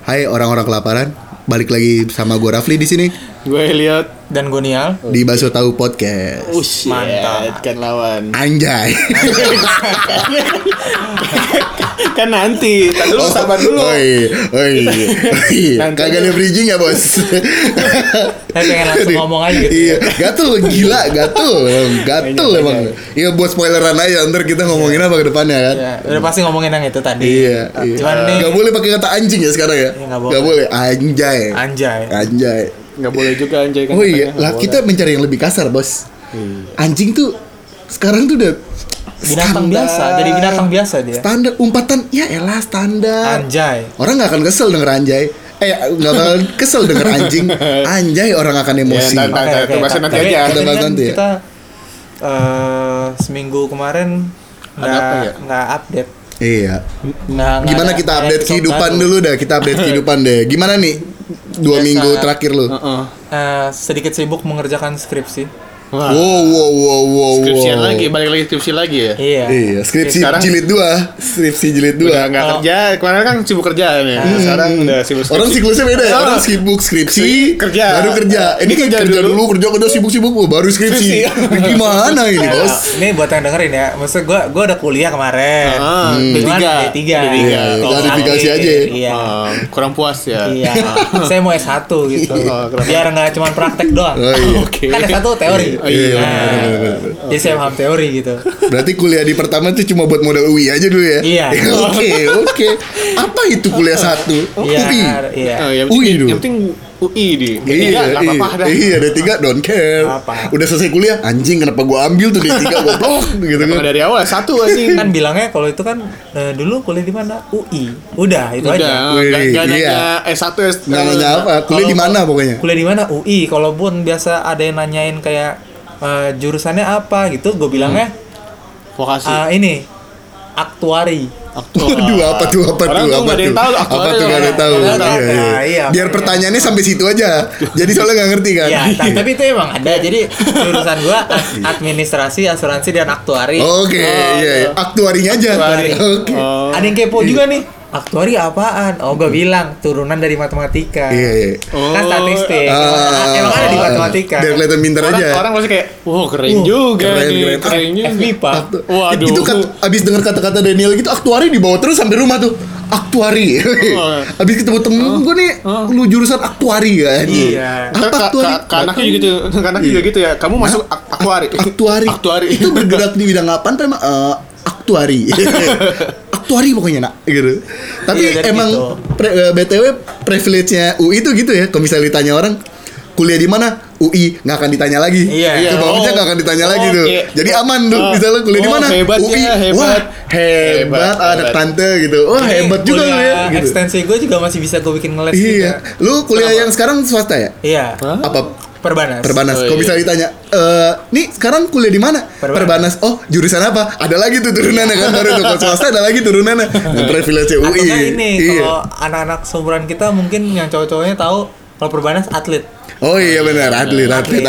Hai orang-orang kelaparan, balik lagi sama gue Rafli di sini. Gue Elliot dan gue Nial di Baso Tahu Podcast. Mantap. Kan lawan. Anjay. Kan nanti. Tadi dulu sabar dulu. Oi. Kagak ada bridging ya, Bos? Saya pengen langsung ngomong aja gitu. Iya, gatul emang. Iya, buat spoileran aja, ntar kita ngomongin apa ke depannya kan. Ya, udah pasti ngomongin yang itu tadi. Iya. Cuman nih Gak boleh pakai kata anjing ya sekarang ya. Iya, Gak boleh. Anjay. Nggak boleh juga anjay kan. Oh iya, lah kita mencari yang lebih kasar, Bos. Anjing tuh sekarang tuh udah binatang standar. biasa, jadi binatang biasa dia. Standar umpatan, ya elah standar. Anjay. Orang nggak akan kesel denger anjay. Nggak bakal kesel denger anjing. Anjay orang akan emosi. Ya, itu bahasa nanti Tapi aja. Kita bahas nanti ya. Kita seminggu kemarin nggak update. Iya. Nggak Gimana ada kita update episode kehidupan baru. dulu dah. Kita update kehidupan deh. Gimana nih 2 Biasa. minggu terakhir lu? Sedikit sibuk mengerjakan skripsi. Wow. Skripsian lagi, balik lagi skripsi lagi ya. Iya, skripsi Sekarang- jilid 2. Skripsi jilid 2. Udah nggak kerja, kemarin kan sibuk kerja nih. Sekarang udah sibuk skripsi. Orang siklusnya beda ya. Orang sibuk skripsi, Kerja. baru kerja. Ini kan kerja dulu, kerja sibuk, baru skripsi. Gimana ini, Bos? Ini buat yang dengerin ya. Maksudnya gue udah kuliah kemarin. Cuman D3. Iya, klarifikasi aja. Iya. Kurang puas ya. Iya. Saya mau S1 gitu. Biar nggak cuma praktek doang. Oh, iya. Oke. Kan S1 teori. Iya, Nah, jadi saya paham teori gitu. Berarti kuliah di pertama tuh cuma buat modal UI aja dulu ya? Iya. Oke. Apa itu kuliah 1? Iya. UI. Iya. Yang UI penting, dulu. yang penting UI di. Iya, Nggak apa-apa dah. Iya, D3 don't care. Apa. Udah selesai kuliah, anjing kenapa gua ambil tuh D3 goblok gitu kan. Dari awal satu anjing. Kan bilangnya kalau itu kan dulu kuliah di mana? UI. Udah, itu aja. Udah, nggak Iya. nanya S1 Nggak nanya apa, kuliah di mana pokoknya. Kuliah di mana? UI. Kalaupun biasa ada yang nanyain kayak jurusannya apa gitu, gue bilangnya Vokasi. ini aktuari. Waduh, apa tuh? Orang tuh nggak ada yang tahu Apa aktuari tuh nggak ada yang tahu? Nggak ada yang tahu. Iya. Iya, Biar makanya. pertanyaannya sampai situ aja. Jadi soalnya nggak ngerti kan. Ya, tapi itu emang ada. Jadi jurusan gua administrasi, asuransi dan aktuari. Oke, iya. Aktuarinya aja. Aktuari. Oke. Ada yang kepo juga nih. Aktuari apaan? Oh, gue bilang turunan dari matematika. Iya. Kan statistik. Emang ada di matematika. Biar kelihatan pintar aja. Orang pasti kayak, wow keren juga nih, keren juga. FMIPA. Waduh. Itu abis denger kata-kata Daniel gitu, aktuari dibawa terus sampai rumah tuh. Aktuari. Abis ketemu temen gue nih, lu jurusan aktuari kan? Iya. Apa aktuari? Ke anaknya juga gitu, ke anaknya juga gitu ya. Kamu masuk aktuari. Aktuari. Itu bergerak di bidang apaan tuh emang? Aktuari. Aktuari pokoknya nak gitu. Tapi Iya, emang gitu. BTW privilege-nya UI itu gitu ya. Kalau misalnya ditanya orang kuliah di mana? UI nggak akan ditanya lagi. Iya. Ke bawahnya nggak akan ditanya lagi tuh. Oke. Jadi aman tuh. Misalnya kuliah di mana? Hebat UI. ya, hebat. Wah, hebat. Ada Hebat. tante gitu. Wah, hebat juga lu ya. Gitu. Ekstensi gue juga masih bisa gue bikin ngeles Iya. juga. Lu kuliah yang sekarang swasta ya? Iya. Apa? Perbanas. Perbanas. Oh, Kalau iya. bisa ditanya, nih sekarang kuliah di mana? Perbanas. Oh, jurusan apa? Ada lagi tuh turunannya kan baru tuh. Kalau swasta ada lagi turunannya. Nah, privilege Atau UI. nggak ini, Iya. kalau anak-anak seumuran kita mungkin yang cowok-cowoknya tahu kalau Perbanas atlet. Oh iya benar, atlet.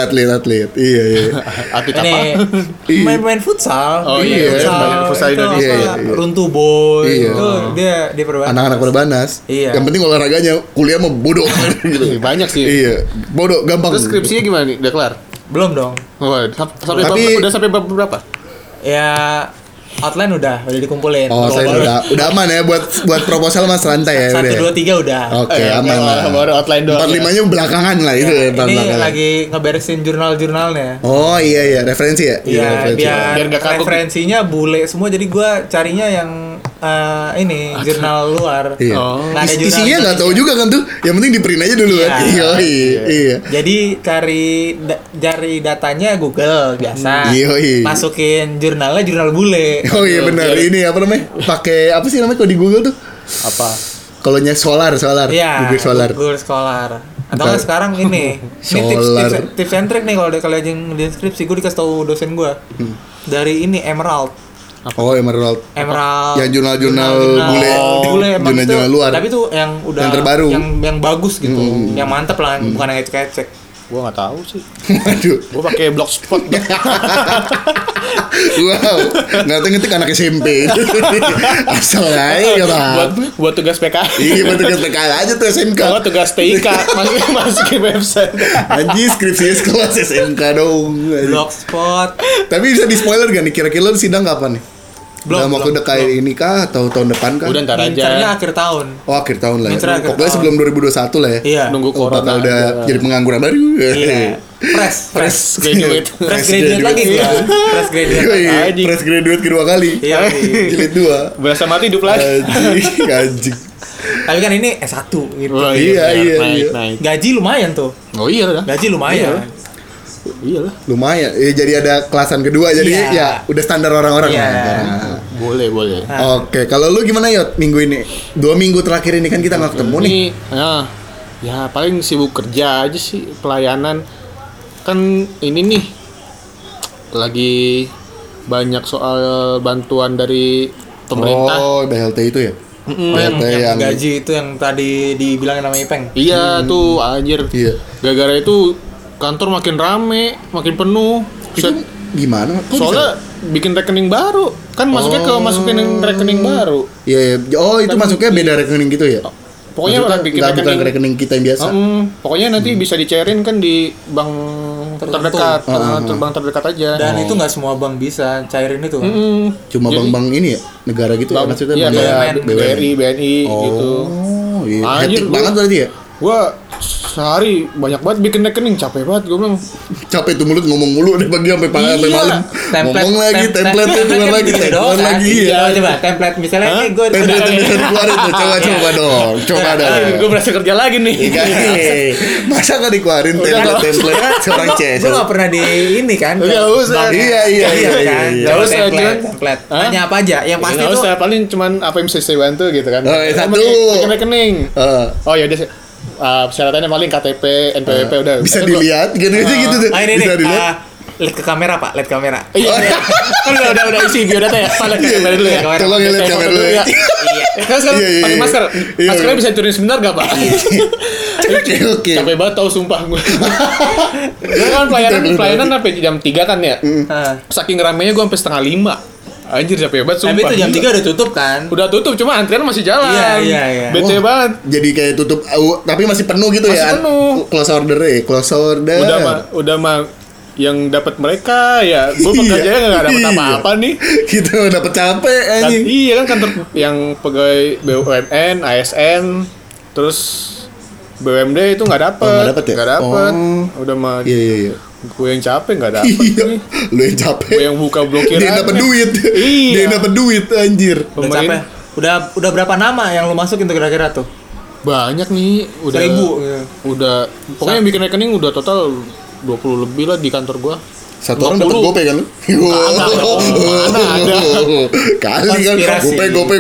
Iya. Atlet Ini apa? main futsal. Oh, iya, main futsal itu Indonesia. apa, Iya. Runtuh boy. Iya. Itu dia Perbanas. Anak-anak Perbanas. Iya. Yang penting olahraganya, kuliah mah bodoh gitu. Banyak sih. Iya, bodoh, gampang. Terus skripsinya gimana nih? Udah kelar? Belum dong. Udah sampai bab berapa? Ya outline udah dikumpulin. Oh, saya udah aman ya buat proposal Mas rantai ya. 1, udah. 2, 3 udah. Oke, aman lah. Baru outline doang. 4-5-nya belakangan lah itu ya. Ini lagi ngeberesin jurnal-jurnalnya. Oh iya, referensi ya? Iya, referensi. biar nggak kagok. referensinya bule semua. Jadi gua carinya yang ini jurnal luar. Iya. Nggak ada jurnal Isinya nggak tahu juga kan tuh. Yang penting di print aja dulu kan. Iya. Jadi cari datanya Google biasa. Iya. Masukin jurnalnya jurnal bule. Oh iya benar. Ini apa namanya? Pakai apa sih namanya kalau di Google tuh? Apa? Kalau nya solar. Iya. Google Solar. Google Scholar. Atau nggak sekarang ini Solar. tips and trick nih kalau kalian di deskripsi gue dikasih tahu dosen gue dari ini Emerald. Oh Emerald. Yang jurnal-jurnal bule. emang itu, Jurnal-jurnal luar. tapi tuh yang udah Yang terbaru. yang bagus gitu, yang mantep lah, bukan yang ecek-ecek. Gua nggak tahu sih. Waduh. Gua pakai blogspot. Wow, ngetik anak SMP. Asal aja buat tugas PKL. Iya, buat tugas PKL aja tuh SMK. Kalau tugas TIK masukin website. Anjir, skripsinya sekelas SMK dong. Blogspot. Tapi bisa di spoiler gak nih, kira-kira lu sidang kapan nih? Dalam waktu dekat ini kah atau tahun depan kah? Udah ntar Mincernya aja. akhir tahun. Oh, akhir tahun lah ya. Mincernya akhir Pokoknya tahun. sebelum 2021 lah ya. Iya. Nunggu Oh, corona bakal udah aja. jadi pengangguran baru. Iya. Fresh Graduate. graduate lagi gua. Fresh graduate. Iya, Anjing. fresh graduate kedua kali. Iya. Jilid 2. Berasa mati hidup lagi. Anjing. Tapi kan ini S1 gitu. Oh, Iya, iya, naik, iya. naik. Gaji lumayan tuh. Oh iya lah. Gaji lumayan. Iya lah. Lumayan. Ya, jadi ada kelasan kedua jadi Iya. ya udah standar orang-orang Iya. lah. Boleh. Oke, kalau lu gimana Yot minggu ini? 2 minggu terakhir ini kan kita nggak ketemu nih. Ini ya paling sibuk kerja aja sih, pelayanan. Kan ini nih lagi banyak soal bantuan dari pemerintah. Oh, BLT itu ya? Oh, yang gaji itu yang tadi dibilangin sama Ipeng. Iya tuh anjir. Iya. Gara-gara itu kantor makin rame, makin penuh. Itu Set- gimana? Kok Soalnya bikin rekening baru. Kan masuknya ke masukin rekening baru. Iya, iya. Oh, itu masuknya beda rekening gitu ya? Pokoknya Maksudnya bikin nggak bukan rekening. rekening kita yang biasa. Pokoknya nanti bisa dicairin kan di bank Tertentu. terdekat, bank terdekat aja. Dan itu nggak semua bank bisa cairin itu. Cuma Jadi- bank-bank ini ya? Negara gitu ya? Maksudnya Iya, bank kayak BUMN. BRI, BNI gitu. Oh, iya. Anjir, Hektik gua- banget berarti ya? Gua sehari banyak banget bikin rekening, capek banget gua bilang. Capek tuh mulut ngomong mulu dari pagi sampai sampai malam. Ngomong lagi, template-nya keluar lagi, keluar lagi. Iya. Coba template misalnya ini gue Template yang bisa dikeluarin tuh, coba dong. Coba dong. Gue berasa kerja lagi nih. Masa nggak dikeluarin template seorang CS? gue nggak pernah di ini kan. Nggak usah. Bank. Iya, iya, Iya iya, kan. iya. Coba Nggak usah, template, cuman- template. Hah? Tanya apa aja. Yang pasti Nggak tuh usah, paling cuman apa yang bisa saya bantu gitu kan. Oh, satu. Bikin rekening. Oh ya udah. Persyaratannya paling KTP, NPWP udah. Bisa Itu gua- dilihat gitu gitu tuh. Ah, ini Bisa nih. dilihat. Lihat ke kamera Pak, lihat kamera. Iya. Kan udah isi biodata ya. Pak, lihat ke kamera dulu ya. Kamera. Tolong ya lihat Saya kamera foto dulu ya. Iya. Kan sekarang Iya, iya, pakai iya. masker. Iya, Maskernya iya. bisa turunin sebentar gak, Pak? Oke, oke. Capek banget tau sumpah gue. Gue kan pelayanan sampai jam 3 kan ya. Ah. Saking ramenya gue sampai setengah 5. Anjir capek banget sumpah. Tapi itu jam 3 udah tutup kan? Udah tutup, cuma antrian masih jalan. Iya. Bete Wah, banget. Jadi kayak tutup, tapi masih penuh gitu Masih ya? penuh. Close order ya, close order. Udah mah yang dapat mereka ya. Gue pekerjanya nggak dapat Iya. apa-apa nih. Gitu dapat capek Kan, anjing. iya kan kantor yang pegawai BUMN, ASN, terus BUMD itu nggak dapet. Oh, nggak dapet ya? Nggak dapet. Oh. Udah mah Iya, iya, iya. gue yang capek nggak dapet Iya, nih. lu yang capek. Gue yang buka blokiran. Dia yang dapat duit. Iya. Dia yang dapat duit anjir. Udah capek. Udah berapa nama yang lu masukin tuh kira-kira tuh? Banyak nih, udah 1000, ya. Udah pokoknya yang bikin rekening udah total 20 lebih lah di kantor gua. Satu orang dapat 20. gopay kan lu? Mana ada. Kali kan Konspirasi. gopay.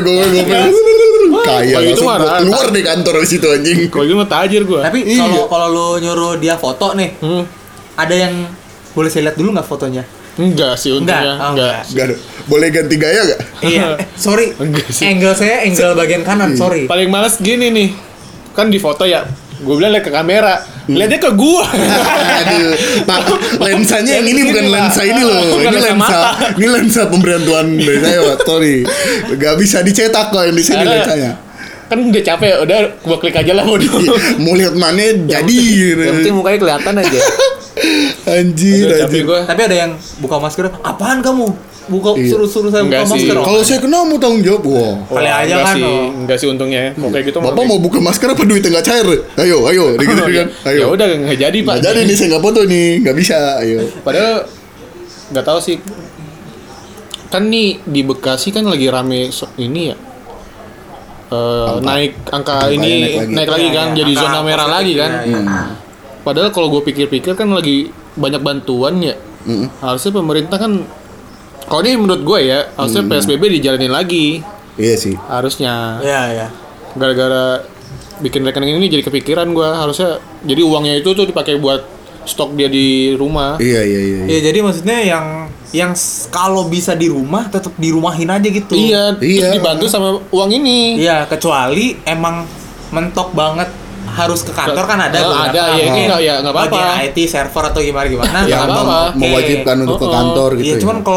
Kaya Kalau itu langsung mah rata. keluar dari kantor di situ anjing. Kalau gitu mah tajir gua. Tapi Iya. kalau lu nyuruh dia foto nih, ada yang boleh saya lihat dulu nggak fotonya? Enggak sih untungnya, Enggak, oh, enggak. Gak ada. Boleh ganti gaya gak? Iya. Sorry. Enggak sih. Angle saya angle bagian kanan, sorry. Paling males gini nih. Kan di foto ya, gua bilang lihat ke kamera. Lihatnya ke gua. Aduh, Pak, lensanya yang ini Ini, bukan Pak. lensa ini loh. Bukan Ini lensa lensa, mata. ini lensa pemberian Tuhan dari saya, Pak. Sorry. Gak bisa dicetak kok yang di sini Karena- lensanya. Kan udah capek, udah gua klik aja lah mau dulu. Mau lihat mana jadi. Yang penting mukanya kelihatan aja. Anjir, Udah capek anjir. gua. Tapi ada yang buka masker, apaan kamu? Iya. Suruh saya Enggak buka sih. masker. Kalau saya kena mau tanggung jawab, wah. Kali aja enggak kan, sih, oh. enggak sih untungnya. Kalau kayak gitu Bapak mau buka masker apa duitnya nggak cair? Ayo, gitu kan. Ayo. Ya udah enggak jadi, Pak. Nggak jadi nih, saya nggak foto nih, nggak bisa. Ayo. Padahal nggak tahu sih. Kan nih di Bekasi kan lagi rame ini ya. Naik angka ini naik lagi kan, Iya, jadi angka zona merah positif, lagi kan. iya. Padahal kalau gue pikir-pikir kan lagi banyak bantuan ya. Harusnya pemerintah kan, kalau ini menurut gue ya, harusnya PSBB dijalanin lagi. Iya sih. Harusnya. Iya. Gara-gara bikin rekening ini jadi kepikiran gue, harusnya jadi uangnya itu tuh dipakai buat stok dia di rumah. Iya. Ya jadi maksudnya yang kalau bisa di rumah tetap dirumahin aja gitu. Iya, Iya. terus dibantu sama uang ini. Iya, kecuali emang mentok banget harus ke kantor kan ada beberapa. Ada, ya ini nggak apa-apa. Bagian IT server atau gimana Ya, nggak apa-apa. Oke. Mewajibkan untuk ke kantor gitu. Iya, ya. cuman kalau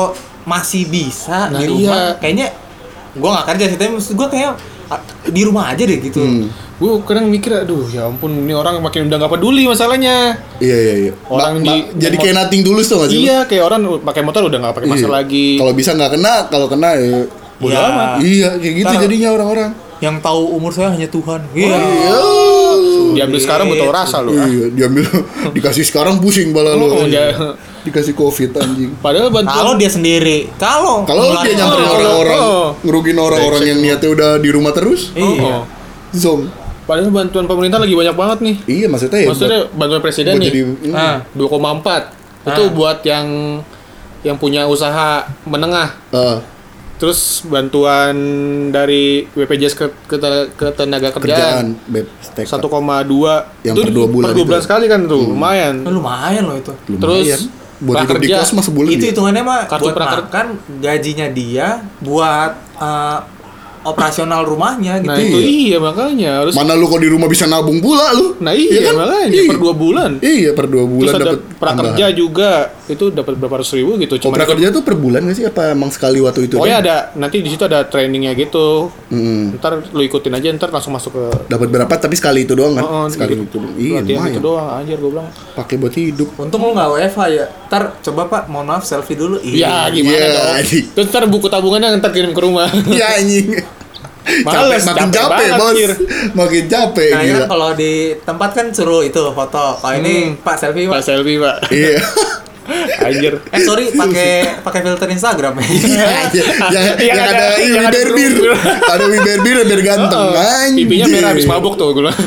masih bisa Nah, di rumah. iya. Kayaknya gue nggak kerja sih, tapi maksud gue kayak di rumah aja deh gitu. Gue kadang mikir, aduh ya ampun, ini orang makin udah nggak peduli masalahnya. Iya. Orang jadi kayak nothing tulus tuh nggak sih? Iya, kayak orang pakai motor udah nggak pakai masker lagi. Kalau bisa nggak kena, kalau kena ya Bodo Ya. amat. iya kayak gitu Ntar- jadinya orang-orang. Yang tahu umur saya hanya Tuhan. Iya. Diambil sekarang betul rasa lu. Iya, diambil dikasih sekarang pusing bala lu. Oh, dia- Dikasih Covid anjing. Padahal bantuan Kalau dia sendiri, kalau Kalau dia nyamperin Oh, orang-orang, oh. ngerugin orang-orang yang niatnya udah di rumah terus, Iya. zom. Padahal bantuan pemerintah lagi banyak banget nih. Iya maksudnya ya. Maksudnya bantuan presiden buat nih. jadi 2,4. Itu buat yang punya usaha menengah. Terus bantuan dari BPJS ke tenaga kerjaan kerjaan 1,2 Yang itu per 2 bulan per 2 bulan itu. sekali kan tuh, lumayan. Lumayan loh itu. lumayan. Terus Buat hidup di prakerja, kos mah sebulan Itu dia. hitungannya mah Kartu buat prakerja. makan gajinya dia buat operasional rumahnya gitu. Nah itu iya makanya harus. Mana lu kok di rumah bisa nabung pula lu? Nah iya kan? makanya Iya. per 2 bulan. Iya per 2 bulan Terus ada dapat prakerja juga itu dapat berapa ratus ribu gitu. Oh, prakerja tuh per bulan nggak sih? Apa emang sekali waktu itu? Pokoknya ada nanti di situ ada trainingnya gitu. Mm-mm. Ntar lu ikutin aja, ntar langsung masuk ke Dapat berapa tapi sekali itu doang kan? Oh, sekali gitu. itu. doang. Iya, latihan lumayan. gitu doang anjir gue bilang. Pakai buat hidup. Untung lu nggak WFH ya. Ntar coba Pak, mohon maaf selfie dulu. Ya gimana Iya, dong. anjing. Terus ntar buku tabungannya ntar kirim ke rumah. Iya anjing. Males, makin capek capek, banget, Bos. Kir. Makin capek Nah, gila. kan kalau di tempat kan suruh itu foto. Kalau ini Pak selfie Pak Pak. selfie pak. Iya. Anjir. Sorry pakai filter Instagram ya. yang ada yang ada Wiberbir. Ada Wiberbir biar ganteng. Anjing. Pipinya merah habis mabuk tuh gue bilang.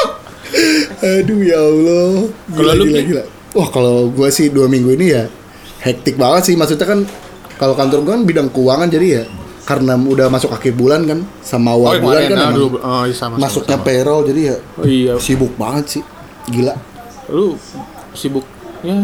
Aduh ya Allah. Kalau lu, Pi? gila. Wah, kalau gua sih 2 minggu ini ya hektik banget sih. Maksudnya kan kalau kantor gua kan bidang keuangan jadi ya karena udah masuk akhir bulan kan sama awal bulan kan emang sama. masuknya payroll jadi ya Oh iya. sibuk banget sih. Gila. Lu sibuknya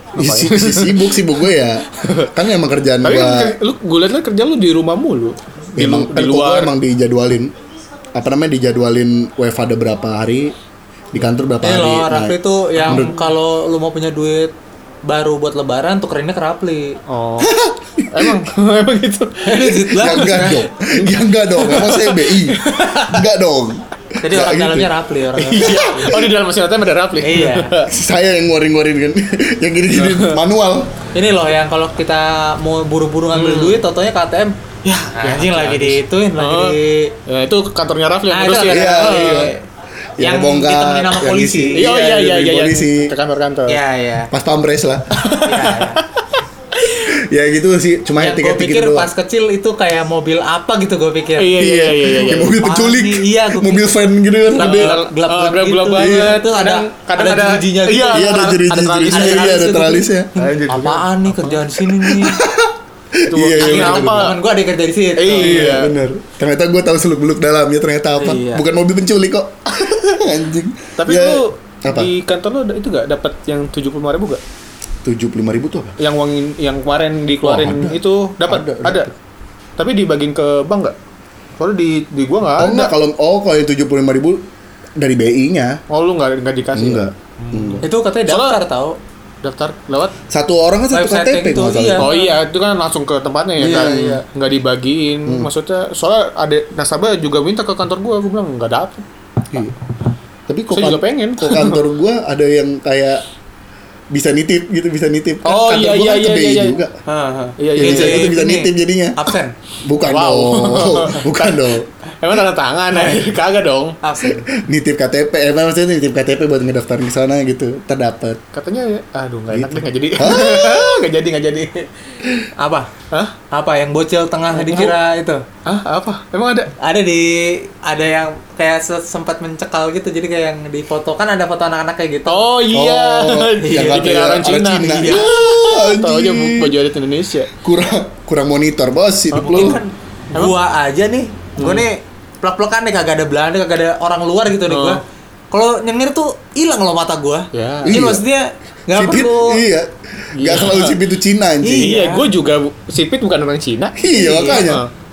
Sibuk gue ya. Kan emang kerjaan tapi gua kan lu gue liat kan kerja lu di rumah mulu. emang di kan kok gua luar. emang dijadwalin apa namanya dijadwalin WFH ada berapa hari di kantor berapa Ini hari. loh, Nah, Rafli tuh yang menurut- kalau lu mau punya duit baru buat lebaran tukerinnya ke Rafli. Oh. emang gitu. Ya enggak dong. Ya enggak dong. Emang saya BI. Enggak dong. Jadi Nggak orang gitu. dalamnya Rafli orang. Iya. Oh di dalam mesin ATM ada Rapli. Iya. Saya yang ngorin-ngorin kan. Yang gini-gini manual. Ini loh yang kalau kita mau buru-buru ngambil duit, totonya ke ATM. Ya, anjing lagi diituin Oh. lagi. Ya itu kantornya Rapli yang Nah, ngurusin. itu Iya, ada- iya. Yang bongkar, ditemenin sama yang polisi. isi. Iya, iya, iya, dari iya. polisi. Ke kantor-kantor. Iya, iya. Pas pampres lah. Iya. Ya gitu sih. Cuma Yang gue hektik-hektik pikir gitu pas doang. kecil itu kayak mobil apa gitu gue pikir. Iya, iya, iya, iya. Kayak mobil Apaan penculik. nih? Iya, gua Mobil van gitu kan. Gelap, Gede. gelap gelap gitu. banget. Itu ada jerujinya gitu. Iya, Iya ada jenis-jenis. tralisnya. Iya ada gitu. tralisnya. Apaan nih kerjaan di sini nih? Itu Iya, iya, akhirnya bener, apa? Temen gue ada yang kerja di situ. Iya. Bener. Ternyata gue tahu seluk-beluk dalamnya ternyata apa. Iya. Bukan mobil penculik kok. Anjing. Tapi Ya, lu apa? di kantor lu itu gak dapat yang 75.000 gak? 75.000 tuh apa? Yang uang yang kemarin dikeluarin Oh, ada. itu dapat Ada. ada. Tapi dibagiin ke bank gak? Soalnya di gua nggak Oh ada. enggak kalau yang 75.000 dari BI-nya. Oh lu nggak dikasih? Enggak. Ya? Enggak. Itu katanya Soalnya- daftar tahu. Daftar lewat? Satu orang kan satu Website KTP gitu, kalau nggak salah. iya. Oh iya, itu kan langsung ke tempatnya ya Iya, kan? iya. Nggak dibagiin. Maksudnya soalnya ada nasabah juga minta ke kantor gua bilang nggak dapet. Iya. Tapi kok Saya juga pengen. kok kantor gua ada yang kayak bisa nitip gitu, bisa nitip. Kan Oh, kantor iya, gua iya, kan ke iya, BI iya. juga. Iya Yang bisa itu bisa ini. nitip jadinya. Absen. Bukan Wow. dong. Bukan dong. Emang tanda tangan ya? Kagak dong. Absen. Nitip KTP, maksudnya nitip KTP buat ngedaftarin ke sana gitu, terdapat. Katanya, aduh nggak enak Gitu. deh nggak jadi. nggak jadi. Apa? Hah? Apa yang bocil tengah dikira itu? Hah? Apa? Emang ada? Ada yang kayak sempat mencekal gitu, jadi kayak yang di foto kan ada foto anak-anak kayak gitu. Oh iya. yang Dikira katanya orang Cina. Iya, Tahu aja anjing. baju adat Indonesia. kurang monitor bos hidup lu. Mungkin kan gua aja nih, gua nih plek-plekan nih kagak ada Belanda, kagak ada orang luar gitu nih gua. Kalau nyengir tuh hilang loh mata gua. Ya. Jadi Iya. maksudnya nggak Sipit, perlu. iya. Gak selalu sipit itu Cina anjing. Iya, gue juga sipit bukan orang Cina. Iya, makanya.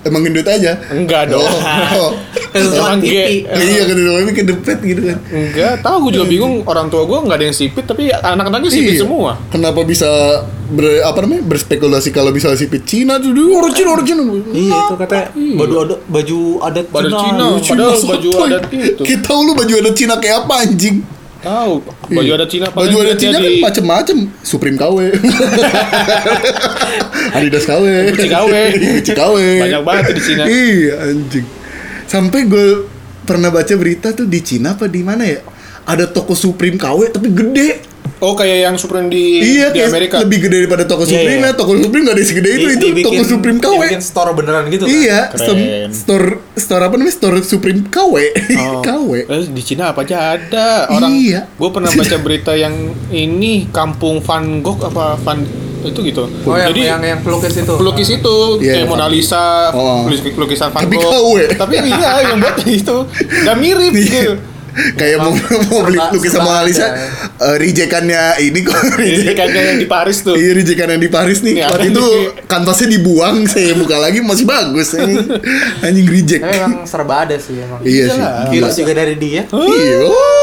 Emang gendut aja? Enggak dong. Kesusahan Emang pipi. Iya kan itu kedepet gitu kan. Enggak, tahu gue juga bingung, orang tua gue nggak ada yang sipit tapi anak-anaknya sipit Iya. semua. Kenapa bisa berspekulasi kalau bisa sipit Cina tuh original. Iya itu katanya baju adat Cina. Padahal baju adat itu. Kita tahu lu baju adat Cina kayak apa anjing? Tahu, baju adat Cina Baju adat Cina kan macem-macem. Supreme KW. Adidas KW. Gucci KW. Gucci KW. Banyak banget di Cina. Iya anjing. Sampai gue pernah baca berita tuh di Cina apa di mana ya? Ada toko Supreme KW tapi gede. Oh, kayak yang Supreme di Kayak Amerika. lebih gede daripada toko Iya, Supreme iya. ya. Toko Supreme gak ada segede itu toko Supreme KW. Dibikin store beneran gitu kan? Iya, Keren. store apa namanya? Store Supreme KW. Oh. KW. Di Cina apa aja ada orang. Iya. Gue pernah baca berita yang ini kampung Van Gogh apa Van itu gitu. Oh Jadi yang pelukis itu. pelukis itu Iya, kayak Mona Lisa, Oh. lukisan Van Tapi Gogh. KW. Tapi iya yang buat itu nggak mirip gitu. Kayak mau beli lukisan Mona Lisa, rijekannya ini kok. Jadi kayak yang di Paris tuh. Iya, rijekan yang di Paris nih. Nih, Waktu ada itu nih. kanvasnya dibuang, saya buka lagi masih bagus. Anjing reject. Tapi emang serba ada sih emang. Iya sih. Iyalah. Gila. Virus juga dari dia. Iya.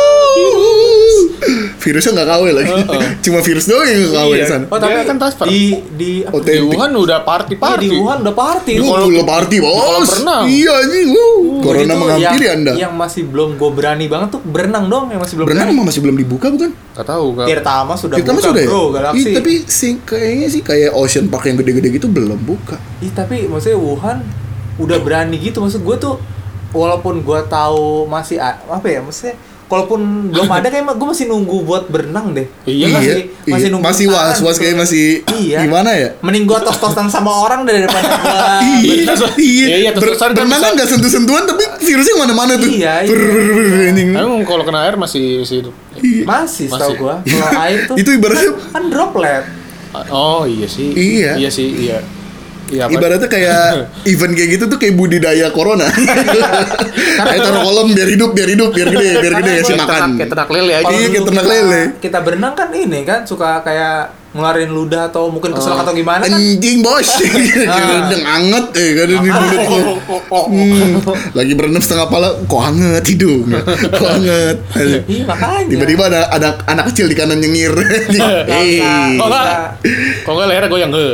Virusnya nggak KW lagi. Cuma virus doang yang nggak KW Iya. di sana. Oh tapi Dia kan transfer. di Di Otentik. Wuhan udah party. di Wuhan udah party. Lu party kolam bos. berenang. Iya anjing. Corona Itu menghampiri yang, Anda. Yang masih belum gue berani banget tuh berenang dong yang masih belum Berenang berani. emang masih belum dibuka bukan? Gak tahu gak. Tirtama sudah Kita buka sudah ya? bro, Galaxy. Iya, tapi kayaknya sih kayak Ocean Park yang gede-gede gitu belum buka. Ih, tapi maksudnya Wuhan udah berani gitu. Maksud gue tuh walaupun gue tahu masih apa ya maksudnya kalaupun belum ada kayak gue masih nunggu buat berenang deh. Iya, masih nunggu masih tangan was tuh. kayak masih Iya. gimana ya? Mending gue tos-tosan sama orang daripada gue Iya, terus-terusan kan berenang kan bisa- nggak sentuh-sentuhan tapi virusnya kemana-mana tuh. Iya, iya. Anjing. Emang kalau kena air masih hidup. masih setahu Masih. gue kalau air tuh Itu ibaratnya kan droplet. Oh iya sih. Iya. Iya sih, iya. Iya, apa? Ibaratnya kayak event kayak gitu tuh kayak budidaya corona. Kayak taruh kolom biar hidup, biar gede ya si makan. Kayak ternak lele aja. Kalau Iya, kayak dulu ternak kita- lele. Kita berenang kan ini kan suka kayak ngeluarin ludah atau mungkin keselak atau gimana kan. Anjing bos, udah anget kan di mulut gua. Lagi berenang setengah pala, kok hangat hidung, kok hangat. Iya makanya. Tiba-tiba ada anak kecil di kanan nyengir. Hei. Kok enggak? Kok enggak lehernya goyang ke?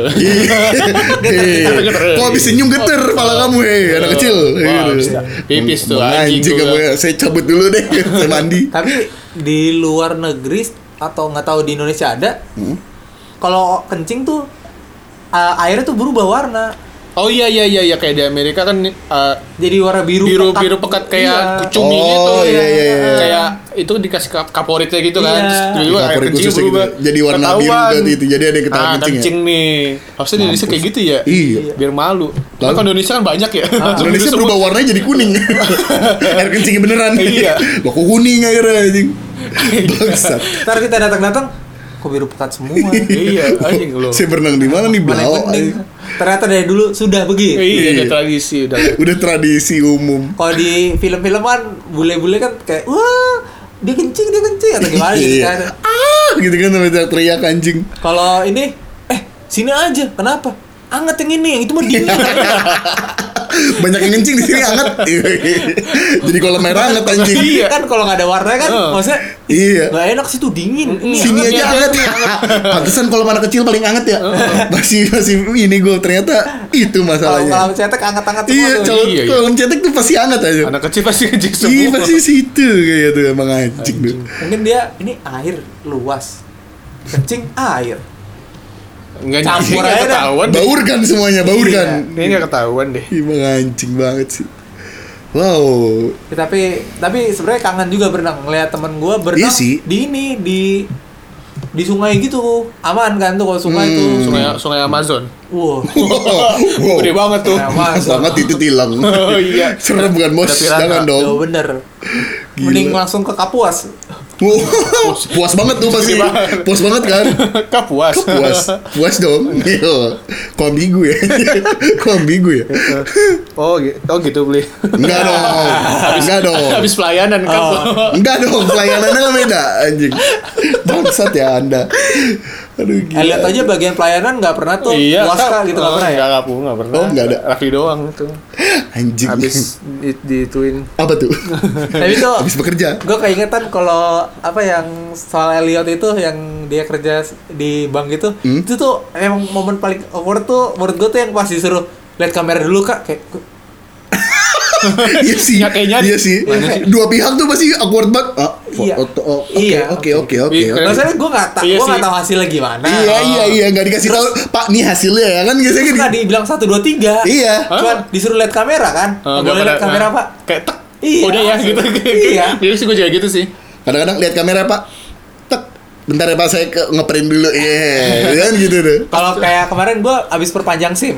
Kok habis senyum geter pala kamu anak kecil. Wah, Gitu. habis pipis tuh, Anjing anjing kamu gua. ya. Saya cabut dulu deh, saya mandi. Tapi di luar negeri atau nggak tahu di Indonesia ada. Kalau kencing tuh airnya tuh berubah warna. Oh iya kayak di Amerika kan Jadi warna biru pekat kayak cumi Oh, gitu. iya. Kayak itu dikasih kaporitnya gitu kan. Iya. Terus tiba-tiba air Favorit kencing khususnya berubah. gitu. Jadi warna biru Ketahuan. berarti itu. Jadi ada yang ketahuan kencing ya? kencing nih. Harusnya di Indonesia kayak gitu ya. Iya. Biar malu. Lalu? Kan Indonesia kan banyak ya. Indonesia Semua- berubah warnanya jadi kuning. Air kencingnya beneran. Iya. Loh kok kuning akhirnya anjing. Bangsat. Ntar kita datang kok biru pekat semua. Iya, anjing loh. Saya berenang di mana nih Mana yang Blau? penting. Ternyata dari dulu sudah begitu. Iya, Iya. udah tradisi udah. Udah tradisi umum. Kalau di film-film kan bule-bule kan kayak wah dia kencing atau gimana gitu Iya. kan. Gitu kan sampai teriak anjing. Kalau ini sini aja. Kenapa? Anget yang ini, yang itu mah dingin. Banyak yang kencing di sini hangat. Jadi kolam air hangat anjing. Iya. Kan kalau nggak ada warna kan maksudnya Iya. nggak enak sih tuh dingin. Ini Sini hangat aja ya. hangat ya. Pantesan kalau anak kecil paling hangat ya. Masih ini gue ternyata itu Kalau masalahnya. cetek hangat-hangat semua Iya, tuh. kalau Iya. kalau cetek tuh pasti hangat aja. Anak kecil pasti kencing Iya, semua. pasti situ kayak tuh emang anjing tuh. Mungkin dia ini air luas. Kencing air. Enggak Campur nggak aja dah. ketahuan deh. Baur kan semuanya, baur Iya. kan. Ini enggak ketahuan deh. Emang anjing banget sih. Wow. Ya, tapi sebenarnya kangen juga berenang ngeliat temen gue berenang Iya sih. di ini di sungai gitu aman kan tuh kalau sungai tuh Sungai Amazon. wow Wow. Gede banget tuh. Sungai Amazon. Banget itu tilang. Oh iya. Serem bukan bos? Udah piranha. Jangan dong. Jauh bener Gila. mending langsung ke Kapuas Puas banget tuh pasti. Puas banget kan? Kak puas. Puas dong. Iya. Kok ambigu ya? Oh gitu beli. Enggak dong. Habis pelayanan kan. Enggak dong, pelayanannya kan beda anjing. Bangsat ya Anda. Aduh gila. Lihat aja bagian pelayanan nggak pernah tuh puas Kak gitu nggak pernah ya? Nggak pernah. Oh, nggak ada. Raffi doang itu. Anjing. Habis dituin. Apa tuh? Tapi tuh Habis bekerja. gue keingetan kalau apa yang soal Elliot itu yang dia kerja di bank itu tuh emang momen paling awkward tuh menurut gue tuh yang pas disuruh lihat kamera dulu Kak kayak Iya sih. Iya sih. Dua pihak tuh pasti awkward banget. Oke. Maksudnya gue nggak tahu hasilnya gimana. Iya nggak dikasih tahu Pak nih hasilnya ya kan biasanya nggak dibilang 1, 2, 3. Iya. Cuman disuruh lihat kamera kan. Boleh lihat kamera Pak. Kayak tek. Iya. Udah ya gitu. Iya. Jadi sih gue juga gitu sih. Kadang-kadang lihat kamera Pak. Tek. Bentar ya Pak saya ngeprint dulu. Iya. Kan gitu deh. Kalau kayak kemarin gue abis perpanjang SIM.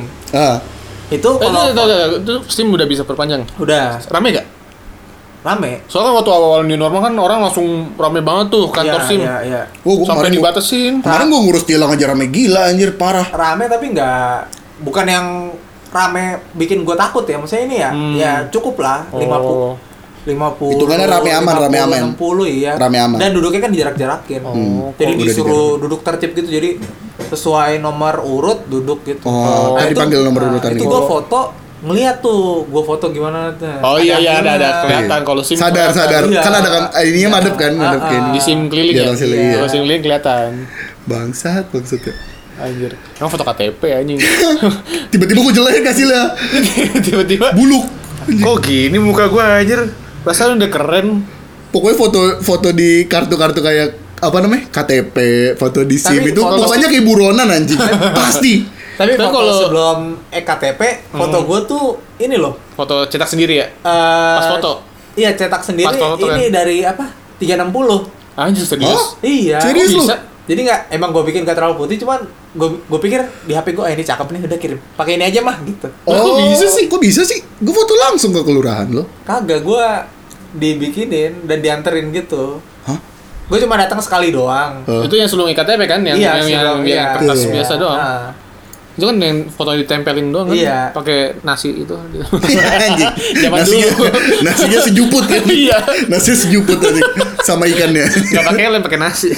Itu kalau itu SIM udah bisa perpanjang. udah Rame gak? rame. Soalnya waktu awal new normal kan orang langsung rame banget tuh kantor SIM. Iya. Sampai dibatasin. Kemarin gue ngurus tilang aja rame gila anjir parah. Rame tapi bukan yang rame bikin gue takut ya. Maksudnya ini ya cukup lah 50. Hitungannya rame aman. 60 iya. Rame aman. Dan duduknya kan dijarak-jarakin. Jadi disuruh duduk tertib gitu. Jadi sesuai nomor urut duduk gitu. Kan dipanggil nomor urutan itu gitu. gue foto ngeliat tuh. Gue foto gimana tuh. Oh iya ada kelihatan kalau SIM. Sadar. Iya. Kan ada kan ininya madep kan, madepin. Di SIM keliling ya. Kalau SIM keliling kelihatan. Bangsat ya. Anjir. Emang foto KTP anjing. Tiba-tiba gue jelek hasilnya. Tiba-tiba buluk. Kok gini muka gue anjir? Perasaan udah keren. Pokoknya foto di kartu-kartu kayak apa namanya? KTP, foto di SIM itu pokoknya kayak buronan anjing. Pasti. Tapi kalau sebelum KTP, foto gue tuh ini loh. Foto cetak sendiri ya? Pas foto? Iya, cetak sendiri. Ini dari apa? 360. Anjir serius? Iya. Serius lu? Jadi emang gue bikin gak terlalu putih, cuman gue pikir di HP gue ini cakep nih, udah kirim. Pakai ini aja mah gitu. Kok bisa sih? Gue foto langsung ke kelurahan lo. Kagak, gue dibikinin dan dianterin gitu. Hah? Gue cuma datang sekali doang. Itu yang sebelum IKTP kan? Yang kertas biasa doang. Itu kan yang foto ditempelin doang kan? Iya. Pakai nasi itu. Anjing. Zaman dulu. Nasinya sejuput kan? Iya. Nasinya sejuput tadi sama ikannya. Gak pakai lem, pakai nasi.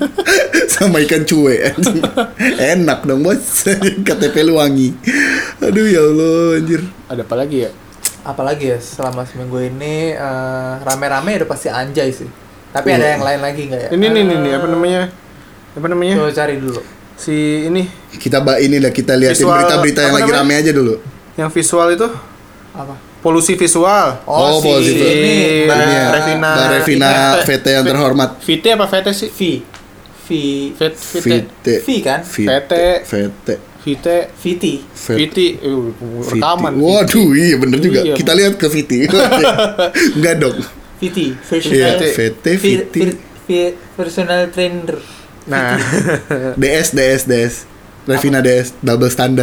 Sama ikan cuek anjing. Enak dong bos. KTP lu wangi. Aduh ya Allah anjir. Ada apa lagi ya? Apalagi ya selama seminggu ini rame-rame udah pasti Anjay sih. Tapi ada yang lain lagi nggak ya? Ini apa namanya? Coba cari dulu. Si ini kita liatin visual, berita-berita yang lagi rame aja dulu. Yang visual itu apa? Polusi visual. Polusi visual. Ini Mbak Revina VT yang terhormat. VT apa VT sih? V kan? VT rekaman. Waduh, iya bener juga. Iya. Kita lihat ke VT. Enggak dong. VT personal trainer. Nah, DS Revina DS double standar.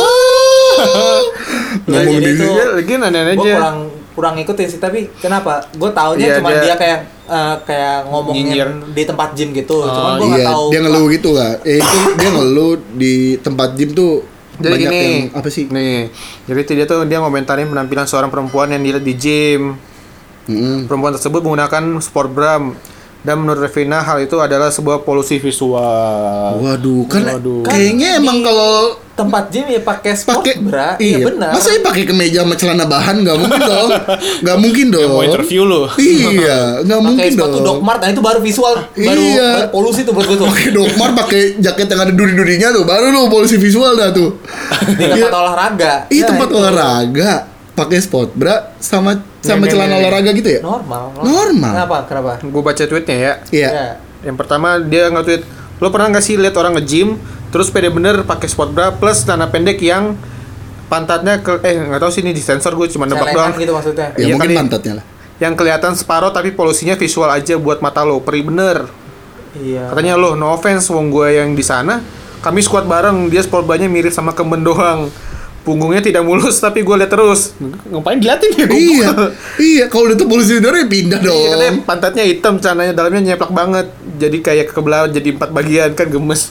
Ngomong jadi di itu lagi nanya aja. Gue kurang ikutin sih, tapi kenapa? Gue taunya cuma dia kayak ngomongin nyinyir di tempat gym gitu. Cuman gue nggak tahu. Dia ngeluh gitu lah. Itu dia ngeluh di tempat gym tuh. Jadi banyak gini, yang apa sih? Nih, jadi dia ngomentarin penampilan seorang perempuan yang dilihat di gym. Perempuan tersebut menggunakan sport bra dan menurut Revina hal itu adalah sebuah polusi visual. Waduh, kayaknya emang kalau tempat gym ya pakai sport bra, iya benar. Masa pakai kemeja sama celana bahan nggak mungkin dong? Nggak mungkin dong. Mau interview lo? Iya, nggak mungkin dong. Pakai sepatu Doc Mart, nah itu baru visual, baru polusi tuh buat gue tuh. Pakai Doc Mart, pakai jaket yang ada duri-durinya tuh, baru lo polusi visual dah tuh. Di tempat olahraga. Iya tempat olahraga. Pakai sport bra sama celana olahraga gitu ya? Normal. Kenapa? Gue baca tweetnya ya. Iya. Yang pertama dia nge-tweet, lo pernah nggak sih lihat orang nge-gym terus pede bener pakai sport bra plus celana pendek yang pantatnya nggak tahu sih ini disensor, gue cuma nebak doang. Gitu maksudnya. Ya mungkin pantatnya lah. Yang kelihatan separuh tapi polusinya visual aja buat mata lo, perih bener. Iya. Katanya lo, no offense, wong gue yang di sana, kami squad bareng, dia sport bra-nya mirip sama kemben doang. punggungnya tidak mulus tapi gue lihat terus. Ngapain diliatin ya? Iya, kalau itu polusi udara ya pindah dong. Iya, katanya pantatnya hitam, celananya dalamnya nyeplak banget. Jadi kayak kebelah jadi 4 bagian kan gemes.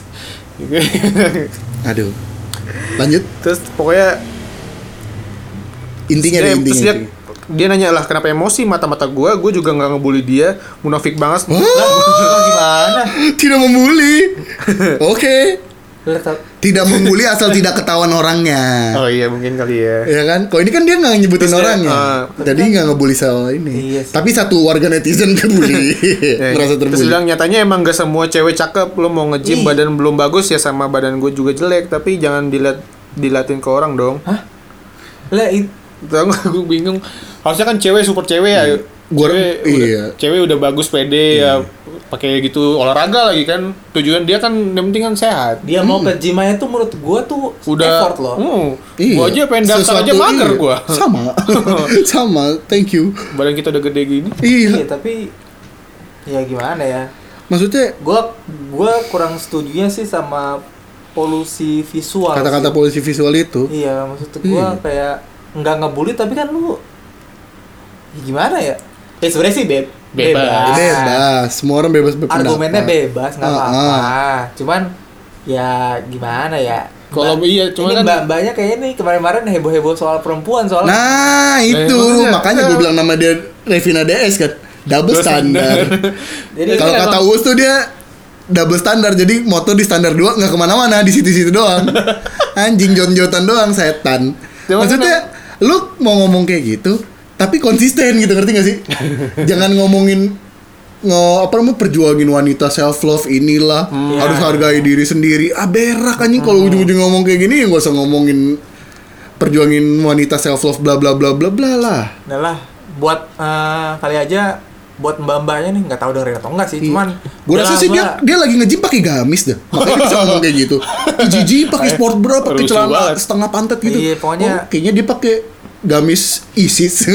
Aduh. Lanjut. Terus pokoknya Intinya terus dia nanya lah kenapa emosi mata-mata gue juga nggak ngebully dia, munafik banget. Gimana? Tidak membuli. Oke. Tidak membuli asal tidak ketahuan orangnya. Oh iya mungkin kali ya. Ya kan? Kok ini kan dia nggak nyebutin orangnya. Jadi nggak ngebully soal ini. Iya sih. Tapi satu warga netizen kebully. Merasa Terus terbully. bilang nyatanya emang gak semua cewek cakep. Lo mau nge-gym badan belum bagus ya sama badan gue juga jelek. Tapi jangan dilatin ke orang dong. Hah? Lah Tau gak, gue bingung. Harusnya kan cewek super cewek ya. Cewek udah bagus pede ya pakai gitu olahraga lagi kan. Tujuan dia kan yang penting kan sehat. dia mau ke gym aja tuh menurut gua tuh Udah effort loh. Gua aja pengen daftar aja mager gua. Sama. Thank you. Badan kita udah gede gini. Iya, tapi ya gimana ya? Maksudnya Gua kurang setujunya sih sama polusi visual. kata-kata sih. polusi visual itu. Iya, maksud gua kayak nggak ngebully tapi kan lu ya gimana ya? Ya sebenarnya sih Bebas. Semua orang bebas berpendapat. Argumennya bebas, nggak apa-apa. Cuman ya gimana ya? Kalau iya, cuma ini kan mbak-mbaknya kayaknya nih kemarin-kemarin heboh-heboh soal perempuan soalnya. Nah, itu makanya gue bilang nama dia Revina DS kan. Double standar. Jadi Kalau kan kata Uus tuh dia double standar. Jadi moto di standar 2 nggak kemana-mana, di situ-situ doang. Anjing jon-jotan doang, setan. Maksudnya lu mau ngomong kayak gitu tapi konsisten gitu, ngerti gak sih? Jangan ngomongin perjuangin wanita, self love inilah, harus hargai diri sendiri. Berak anjing kalau ujung-ujung ngomong kayak gini, enggak usah ngomongin perjuangin wanita, self love bla bla bla bla bla lah. Nah lah, buat kali aja buat mbak-mbaknya nih, nggak tahu dengerin atau enggak sih, cuman gue rasa sih dia lagi nge-gym pakai gamis dah, makanya bisa ngomong kayak gitu. Jiji pakai sport bra, pakai celana setengah pantat gitu. Iya, pokoknya kayaknya dia pakai gamis ISIS.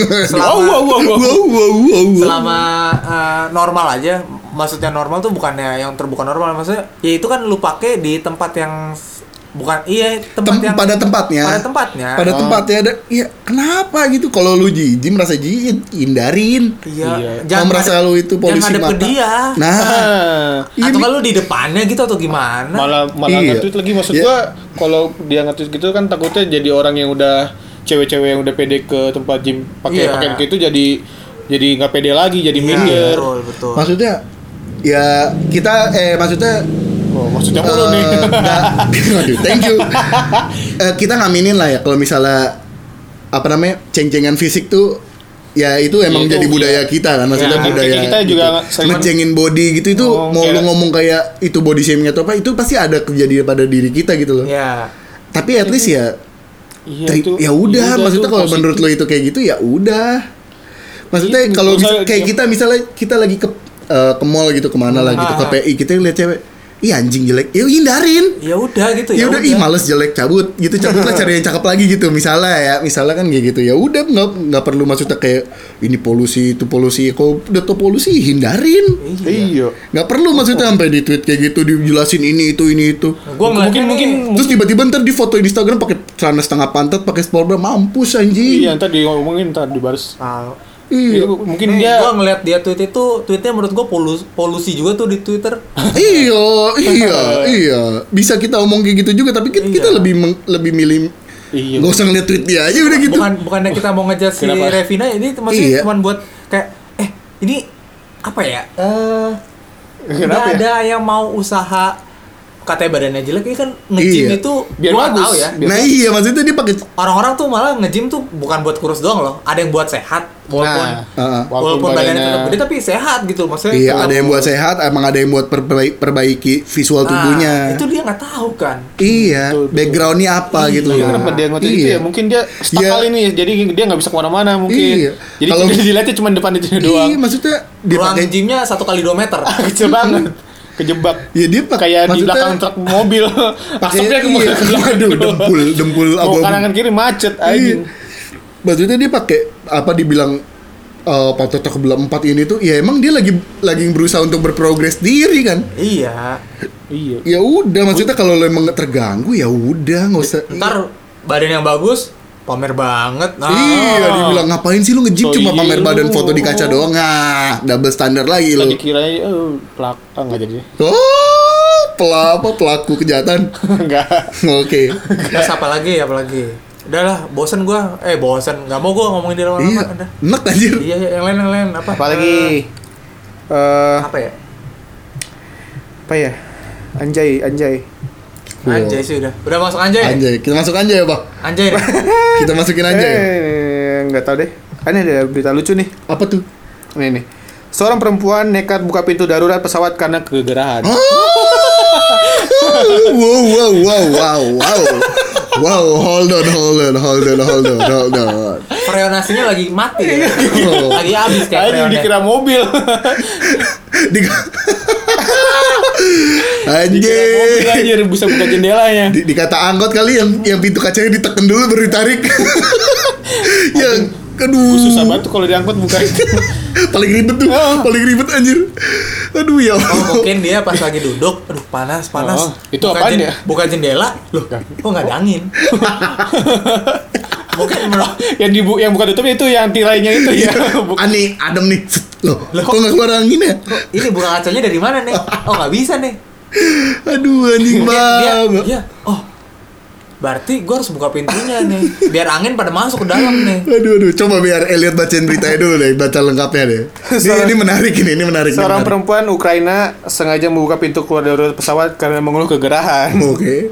Selama normal aja, maksudnya normal tuh bukannya yang terbuka normal, maksudnya ya itu kan lu pakai di tempat yang pada tempatnya. Pada tempatnya. Ya kenapa gitu? Kalau lu jijik merasa jijik, hindarin. Iya. Jangan merasa lu itu polusi mata. Dia. Nah, atau kalau di depannya gitu atau gimana? Malah nge-tweet lagi, maksud gua kalau dia nge-tweet gitu kan takutnya jadi orang yang udah cewek-cewek yang udah pede ke tempat gym pakai pakaian kayak itu jadi nggak pede lagi, jadi minder. Betul. Maksudnya ya kita maksudnya mulu nih. Aduh, thank you. Kita ngaminin lah ya kalau misalnya ceng-cengan fisik tuh ya itu emang jadi budaya kita kan, maksudnya budaya kita juga ngecengin body gitu itu mau lu ngomong kayak itu body shaming atau apa itu pasti ada kejadian pada diri kita gitu loh. Iya. Tapi at least ya ya udah, maksudnya kalau menurut lo itu kayak gitu ya udah. Maksudnya kalau kayak kita misalnya kita lagi ke mall gitu, kemana lah gitu, ke PI kita lihat cewek, ih anjing jelek, ya hindarin. Ya udah gitu ya. Ih males jelek, cabut lah, cari yang cakep lagi gitu. Misalnya kan kayak gitu. Ya udah nggak perlu maksudnya kayak ini polusi itu polusi. Kalau udah tau polusi hindarin. Iya. Nggak perlu maksudnya sampai di tweet kayak gitu dijelasin ini itu. Mungkin terus tiba-tiba ntar di foto Instagram pakai celana setengah pantat, pakai sport bra, mampus anjing. Iya, ntar diomongin ntar dibalas. Iya. Mungkin dia gua ngeliat dia tweetnya menurut gua polusi juga tuh di Twitter. Iya. Bisa kita omong kayak gitu juga, tapi kita lebih milih nggak usah ngeliat tweet dia aja udah gitu. Bukannya kita mau ngejar si Revina, ini maksudnya cuma buat kayak ini apa ya? Nggak ada yang mau usaha katanya badannya jelek, ini kan nge-gym itu biar gua bagus. tahu ya. Iya, maksudnya dia pakai orang-orang tuh malah nge-gym tuh bukan buat kurus doang loh. Ada yang buat sehat walaupun badannya tetap gede tapi sehat gitu maksudnya. Iya, ada yang buat sehat, emang ada yang buat perbaiki visual tubuhnya. Itu dia nggak tahu kan. Iya, backgroundnya apa gitu. Kenapa dia ngotot itu ya? Mungkin dia stuck kali nih, jadi dia nggak bisa kemana-mana mungkin. Jadi kalau dilihatnya cuma depan itu doang. Iya, maksudnya dia pakai gymnya 1 kali 2 meter. Kecil banget. Kejebak. Ya dia kayak di belakang truk mobil. Asapnya ke belakang. Dempul abu. Kanan kiri macet anjing. Maksudnya dia pakai dibilang pantat kebelah 4 ini tuh ya emang dia lagi berusaha untuk berprogres diri kan. Iya. Ya udah, maksudnya kalau lo emang terganggu ya udah, nggak usah. Ntar badan yang bagus, pamer banget. Iya, dibilang ngapain sih lu nge-gym cuma pamer badan foto di kaca doang. Nah, double standar lagi lu. Tadi kirain enggak jadi. Oh, pelaku kejahatan. Enggak. Oke. Terus apa lagi? Udahlah, bosen gua. Bosen. Enggak mau gua ngomongin di lama-lama. Iya. Enak anjir. Iya, yang lain apa? Apalagi apa ya? Apa ya? Anjay. Anjay sih udah. Udah masuk anjay. Anjay, kita masuk anjay ya, Pak. Anjay. Kita masukin anjay. Enggak tahu deh. Ini ada berita lucu nih. Apa tuh? Ini. Seorang perempuan nekat buka pintu darurat pesawat karena kegerahan. Wow, hold on. Freonasinya lagi mati ya. Lagi habis kayak freonnya. Dikira mobil. Anjir, bisa buka jendelanya. Dikata angkot kali yang pintu kacanya ditekan dulu baru ditarik. Yang aduh, susah banget tuh kalau diangkut buka itu. paling ribet anjir. Aduh ya. Mungkin dia pas lagi duduk, aduh panas. Itu apaan ya? Buka jendela, loh kok nggak ada angin? Mungkin yang buka tutup itu yang tirainya itu ya. Aneh, adem nih. Loh, kok nggak keluar angin ya? Ini buka kacanya dari mana nih? Oh nggak bisa nih. Aduh anjing banget. Dia, berarti gue harus buka pintunya nih, biar angin pada masuk ke dalam nih. Aduh, coba biar Elliot bacain beritanya dulu deh, baca lengkapnya deh. Ini menarik. Seorang perempuan Ukraina sengaja membuka pintu keluar dari pesawat karena mengeluh kegerahan. Oke.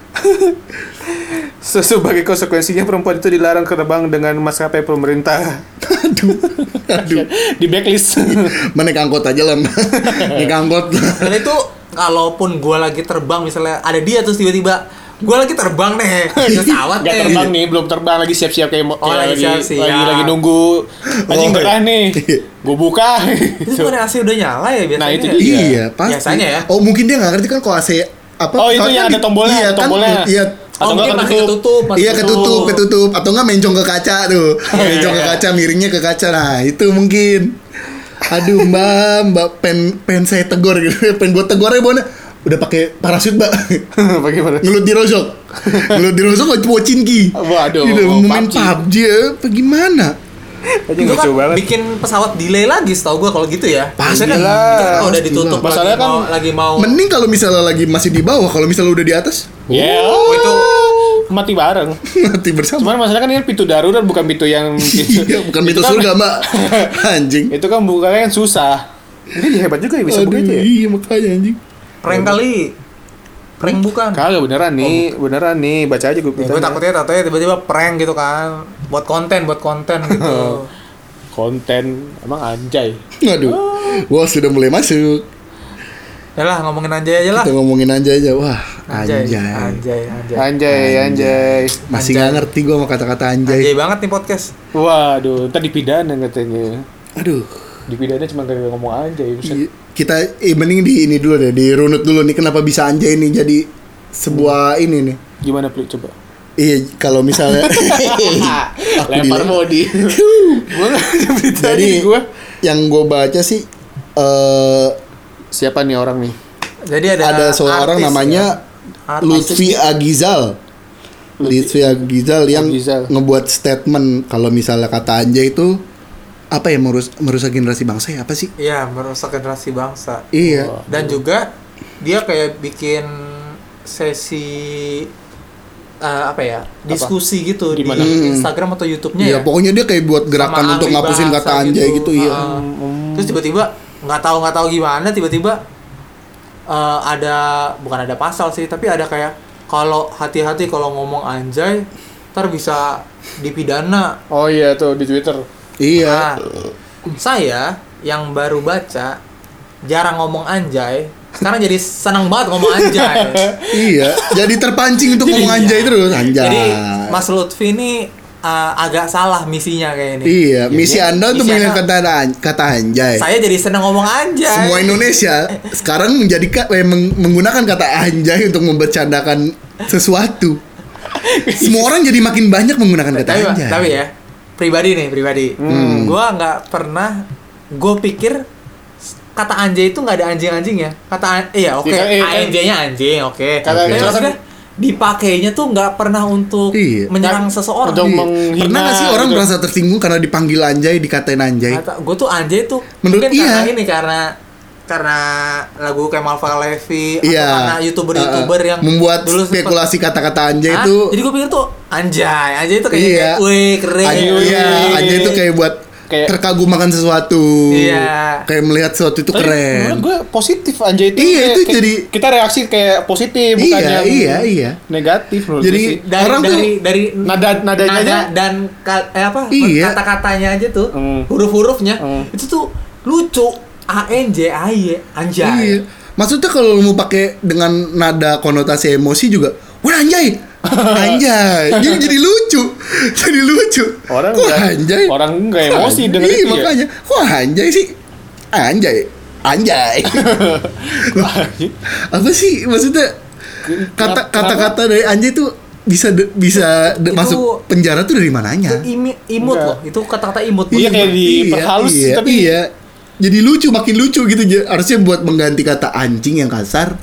Sebagai konsekuensinya perempuan itu dilarang terbang dengan maskapai pemerintah. Aduh. Di blacklist. Naik angkot aja lah. Naik angkot. Dan itu kalaupun gue lagi terbang misalnya ada dia terus tiba-tiba gue lagi terbang nih pesawat nih. Gak terbang nih, belum terbang lagi siap-siap kayak lagi nunggu anjing gerah nih. Gue buka. Itu kan AC udah nyala ya biasanya. Nah itu dia. Iya, pasti. Biasanya ya. Oh mungkin dia nggak ngerti kan kalau AC apa? Oh itu yang ada tombolnya, tombolnya. Iya. Atau mungkin masih ketutup. Iya ketutup. Atau nggak mencong ke kaca tuh. Mencong ke kaca, miringnya ke kaca. Nah itu mungkin. Aduh mbak pen saya tegur gitu. Pen gue tegur aja Bona. Udah pakai parasut mbak. Bagaimana? Ngelut di rosok ngocin ki. Waduh. Udah main PUBG ya. Apa gimana? Itu kan bikin pesawat delay lagi setahu gue kalau gitu ya. Pastilah. Kalau udah ditutup masalahnya kan lagi mau. Mending kalau misalnya lagi masih di bawah, kalau misalnya udah di atas. Itu mati bareng. Mati bersama. Cuman masalahnya kan ini pintu darurat bukan pintu yang bukan pintu surga, Mbak. Anjing. Itu kan bukanya kan susah. Ini hebat juga ya bisa buka itu ya. Iya, makanya anjing. Prank kali. Prank bukan. Kagak beneran nih, baca aja gue. Gue takutnya tiba-tiba prank gitu kan. Buat konten gitu. Konten emang anjay. Aduh. Wah, sudah mulai masuk. Yalah, ngomongin anjay aja lah. Kita ngomongin anjay aja. Wah, Anjay. Masih nggak ngerti gue sama kata-kata anjay. Anjay banget nih podcast. Waduh, ntar dipidana katanya. Aduh. Dipidana cuma gara-gara ngomong anjay. Kita mending di ini dulu deh, dirunut dulu nih kenapa bisa anjay ini jadi sebuah ini nih. Gimana Pli coba? Iya, kalau misalnya lempar body. Jadi yang gue baca sih siapa nih orang nih? Jadi ada seorang namanya Lutfi Agizal. Lutfi Agizal yang ngebuat statement kalau misalnya kata anjay itu apa ya, merusak generasi bangsa ya apa sih? Iya, merusak generasi bangsa. Iya. Dan juga dia kayak bikin sesi diskusi gitu di Instagram atau YouTube-nya ya. Iya, pokoknya dia kayak buat gerakan untuk ngapusin kata anjay gitu iya. Terus tiba-tiba nggak tahu gimana tiba-tiba bukan ada pasal sih, tapi ada kayak kalau hati-hati kalau ngomong anjay ntar bisa dipidana. Oh iya tuh di Twitter. Iya. Nah, saya yang baru baca jarang ngomong anjay, sekarang jadi senang banget ngomong anjay. Iya, jadi terpancing untuk ngomong anjay terus anjay. Jadi Mas Lutfi ini agak salah misinya kayak ini. Iya, misi Anda untuk mengingat kata anjay. Saya jadi senang ngomong anjay. Semua Indonesia sekarang menggunakan kata anjay untuk membercandakan sesuatu. Semua orang jadi makin banyak menggunakan kata anjay. Tapi ya, pribadi. Gua nggak pernah. Gue pikir kata anjay itu nggak ada anjing-anjing ya. Anjay-nya anjing, oke. Maksudnya dipakainya tuh nggak pernah untuk menyerang seseorang. Pernah nggak sih orang merasa tersinggung karena dipanggil anjay, dikatain anjay? Gue tuh anjay tuh menurut mungkin karena lagu Kemal Palevi atau karena youtuber yang membuat dulu spekulasi kata-kata anjay itu. Jadi gue pikir tuh anjay itu kayak wih keren. Anjay itu kayak buat terkagum makan sesuatu, kayak melihat sesuatu itu keren. Menurut gue positif anjay itu. Itu jadi kita reaksi kayak positif, bukannya negatif. Jadi dari nadanya aja dan kata-katanya aja tuh, huruf-hurufnya itu tuh lucu. anjay. Maksudnya kalau mau pakai dengan nada konotasi emosi juga, wah anjay. Jadi lucu. Orang nggak emosi dengan itu makanya. Kok anjay sih? Anjay. Apa sih maksudnya? Kata-kata dari anjay itu bisa masuk penjara tuh dari mananya? Imut loh. Itu kata-kata imut. Iya kayak diperhalus tapi jadi makin lucu gitu. Harusnya buat mengganti kata anjing yang kasar.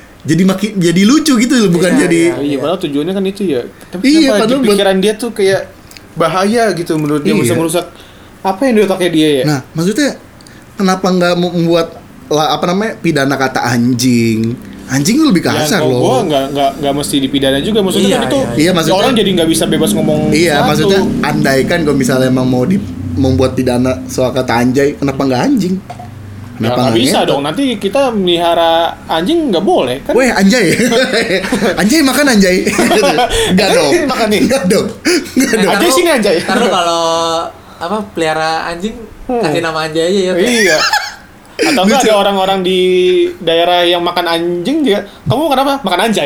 Jadi lucu gitu loh, bukan jadi. Iya, padahal tujuannya kan itu ya. Tapi padahal pikiran dia tuh kayak bahaya gitu menurut dia, bisa merusak apa yang di otaknya dia ya. Nah, maksudnya kenapa nggak membuat pidana kata anjing? Anjing itu lebih kasar loh. Gua nggak mesti dipidana juga, maksudnya kan itu. Iya, maksudnya orang jadi nggak bisa bebas ngomong. Iya, maksudnya andaikan kalau misalnya emang mau membuat pidana soal kata anjay, kenapa nggak anjing? Nggak bisa dong, nanti kita melihara anjing nggak boleh kan? Weh anjay, anjay makan anjay, nggak dong, makan nih, nggak dong. Anjay sini anjay. Karena kalau pelihara anjing kasih nama anjay aja ya. Iya. Atau enggak ada orang-orang di daerah yang makan anjing juga, kamu kenapa makan anjay?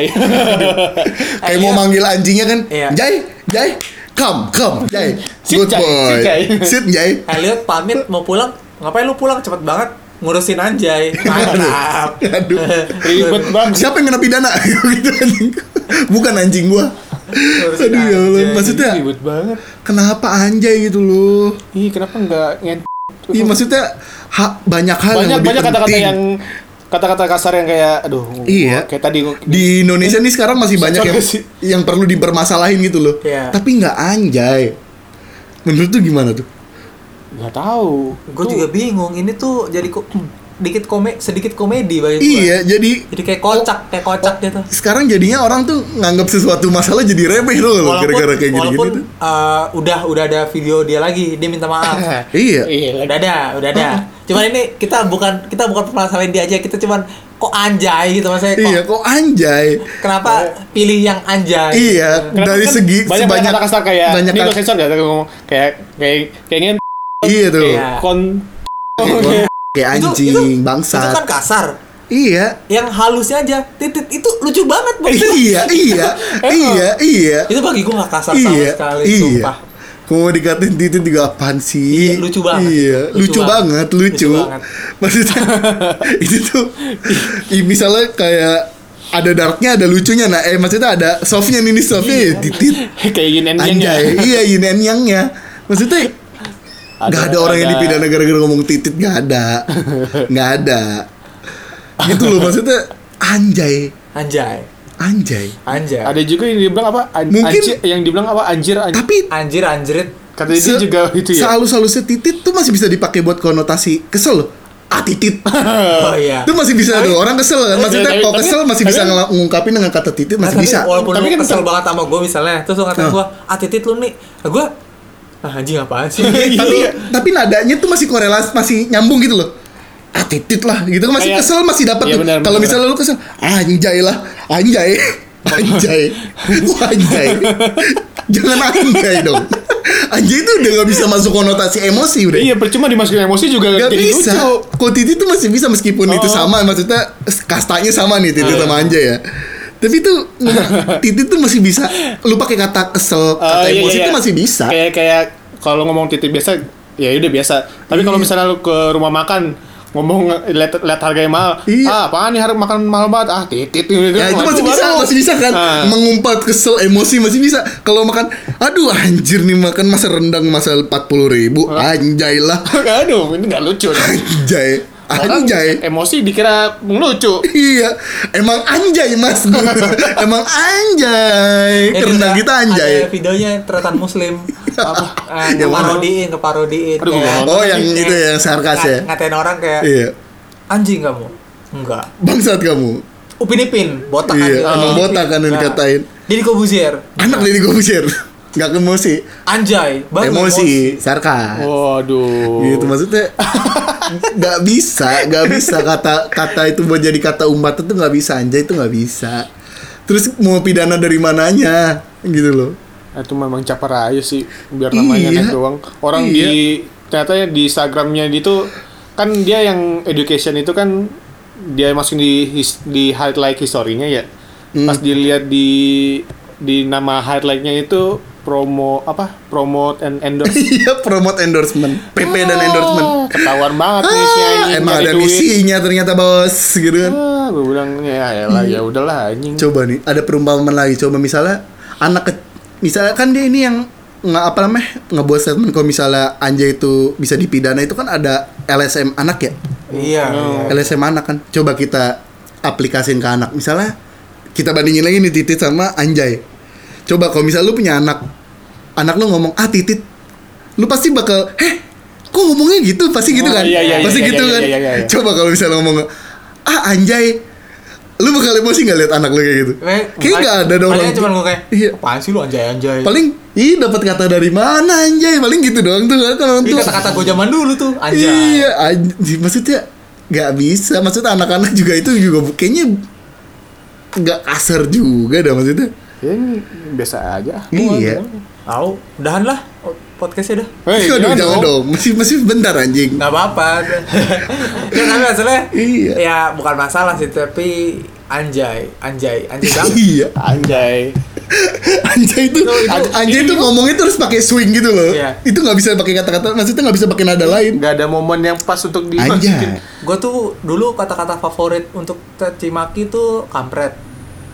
Kayak mau manggil anjingnya kan, Jay, come, Jay, good boy, sit Jay. Elliot pamit mau pulang, ngapain lu pulang cepet banget? Ngurusin anjay. Mantap. Aduh. Ribet banget. Siapa yang kena pidana? Gitu anjing. Bukan anjing gua. Aduh ya Allah. Maksudnya ribet banget. Kenapa anjay gitu loh? Kenapa enggak Iya maksudnya banyak hal yang lebih kata-kata penting. yang kata-kata kasar yang kayak kayak tadi di Indonesia nih sekarang masih banyak yang perlu dipermasalahin gitu loh. Tapi enggak anjay. Menurut tuh gimana tuh? Nggak tahu. Gue juga bingung. Ini tuh jadi sedikit komedi bagi gue. Iya, jadi kayak kocak gitu. Sekarang jadinya orang tuh nganggap sesuatu masalah jadi remeh loh gara-gara kayak gini-gini. Walaupun udah ada video dia lagi, dia minta maaf. Iya. Udah ada. Cuman ini kita bukan permasalahin dia aja, kita cuman kok anjay gitu maksudnya. Iya, kok anjay. Kenapa pilih yang anjay? Iya, dari kan segi banyak kata kasar kayak banyak ini gue sensor enggak ngomong kayak ingin. Iya tuh. Kayak anjing, bangsat. Itu kan kasar. Iya. Yang halusnya aja, titit itu lucu banget. Iya. Itu bagi gue nggak kasar sama sekali. Sumpah. Mau dikatain titit juga apaan sih? Iya, lucu banget. Iya, lucu banget. Maksudnya itu tuh, misalnya kayak ada darknya, ada lucunya. Nah, maksudnya ada softnya nih softnya titit. Kayak yin and yang-nya. Iya, yin and yang-nya. Maksudnya Gak ada orang yang dipidana gara-gara ngomong titit, gak ada. Gitu loh maksudnya anjay. Ada juga yang dibilang apa? Mungkin yang dibilang apa? Anjir. Tapi anjir. Katanya dia juga itu ya. Sehalus-halusnya titit tuh masih bisa dipakai buat konotasi kesel loh. Titit. Oh iya. Itu masih bisa tuh orang kesel kan. Maksudnya kalau kesel masih bisa ngungkapin dengan kata titit masih bisa. Walaupun lu kesel banget sama gue misalnya, terus lu ngatain gue, titit lu nih. Gue anjing apaan sih? tapi nadanya tuh masih korelasi, masih nyambung gitu loh. Titit lah gitu kan, masih kesel masih dapat tuh. Kalau misalnya lu kesel, anjay. Jangan anjay dong. Anjay itu udah gak bisa masuk konotasi emosi udah. Iya, percuma dimasukin emosi juga gak jadi bisa. Lucu. Kok titit tuh masih bisa meskipun itu sama, maksudnya kastanya sama nih titit sama anjay ya. Tapi tuh titit tuh masih bisa. Lu pakai kata kesel, kata emosi tuh masih bisa. Kayak kalau ngomong titit biasa, ya udah biasa. Tapi kalau misalnya lu ke rumah makan ngomong lihat harganya mahal, apaan nih harga makan mahal banget, titit gitu. Ya itu masih bisa kan, mengumpat kesel emosi masih bisa. Kalau makan, aduh anjir nih makan masa rendang masa 40.000, anjay lah. Aduh, ini nggak lucu. Anjay. Anjay. Emosi dikira lucu. Iya, emang anjay mas. Emang anjay. Karena kita anjay. Ada videonya tretan muslim. Keparodiin. Oh yang itu yang sarkas ya. Ngatain orang kayak iya. Anjing kamu. Enggak. Bangsat kamu. Upin Ipin, botak iya, kan. Emang botak kan yang dikatain. Deddy Corbuzier. Anak Deddy Corbuzier. Gak emosi. Anjay, baru emosi. Sarkas. Waduh. Gitu maksudnya. Gak bisa kata itu buat jadi kata umat itu gak bisa. Anjay itu gak bisa. Terus mau pidana dari mananya gitu loh. Itu memang capar aja sih biar namanya naik doang. Orang di ternyata di Instagramnya itu kan dia yang education itu kan dia masukin di highlight historinya ya. Pas dilihat di nama highlightnya itu promote and endorse. Iya, promote endorsement, PP dan endorsement. Ketahuan banget misinya ini. Emang ada misinya ternyata bos, gitu kan. Gue bilang ya udahlah anjing. Coba nih, ada perumpamaan lagi. Coba misalnya misalnya kan dia ini yang ngebuat statement kalau misalnya anjay itu bisa dipidana itu kan ada LSM anak ya. Iya. LSM anak kan. Coba kita aplikasin ke anak. Misalnya kita bandingin lagi nih Titit sama Anjay. Coba kalau misalnya lu punya anak lu ngomong Titit, lu pasti bakal kok ngomongnya gitu, pasti gitu kan? Pasti gitu kan? Coba kalau misalnya ngomong Anjay, lu bakal emosi nggak lihat anak lu kayak gitu? Kayak nggak ada dong. Paling cuma gue kayak apaan sih lu Anjay. Paling dapat kata dari mana Anjay? Paling gitu doang tuh kan. Ini kata-kata gue zaman dulu tuh Anjay. Iya, maksudnya nggak bisa. Maksudnya anak-anak juga itu juga kayaknya nggak kasar juga dah maksudnya. Biasa aja. Iya. Udahan lah podcastnya dah. Jangan dong. Masih bentar anjing. Nggak apa-apa. Ya tapi masalahnya ya bukan masalah sih, tapi anjay banget. Iya. Anjay itu ngomongnya terus pakai swing gitu loh. Iya. Itu nggak bisa pakai kata-kata, maksudnya nggak bisa pakai nada lain. Nggak ada momen yang pas untuk dimasukin. Gue tuh dulu kata-kata favorit untuk caci maki tuh kampret.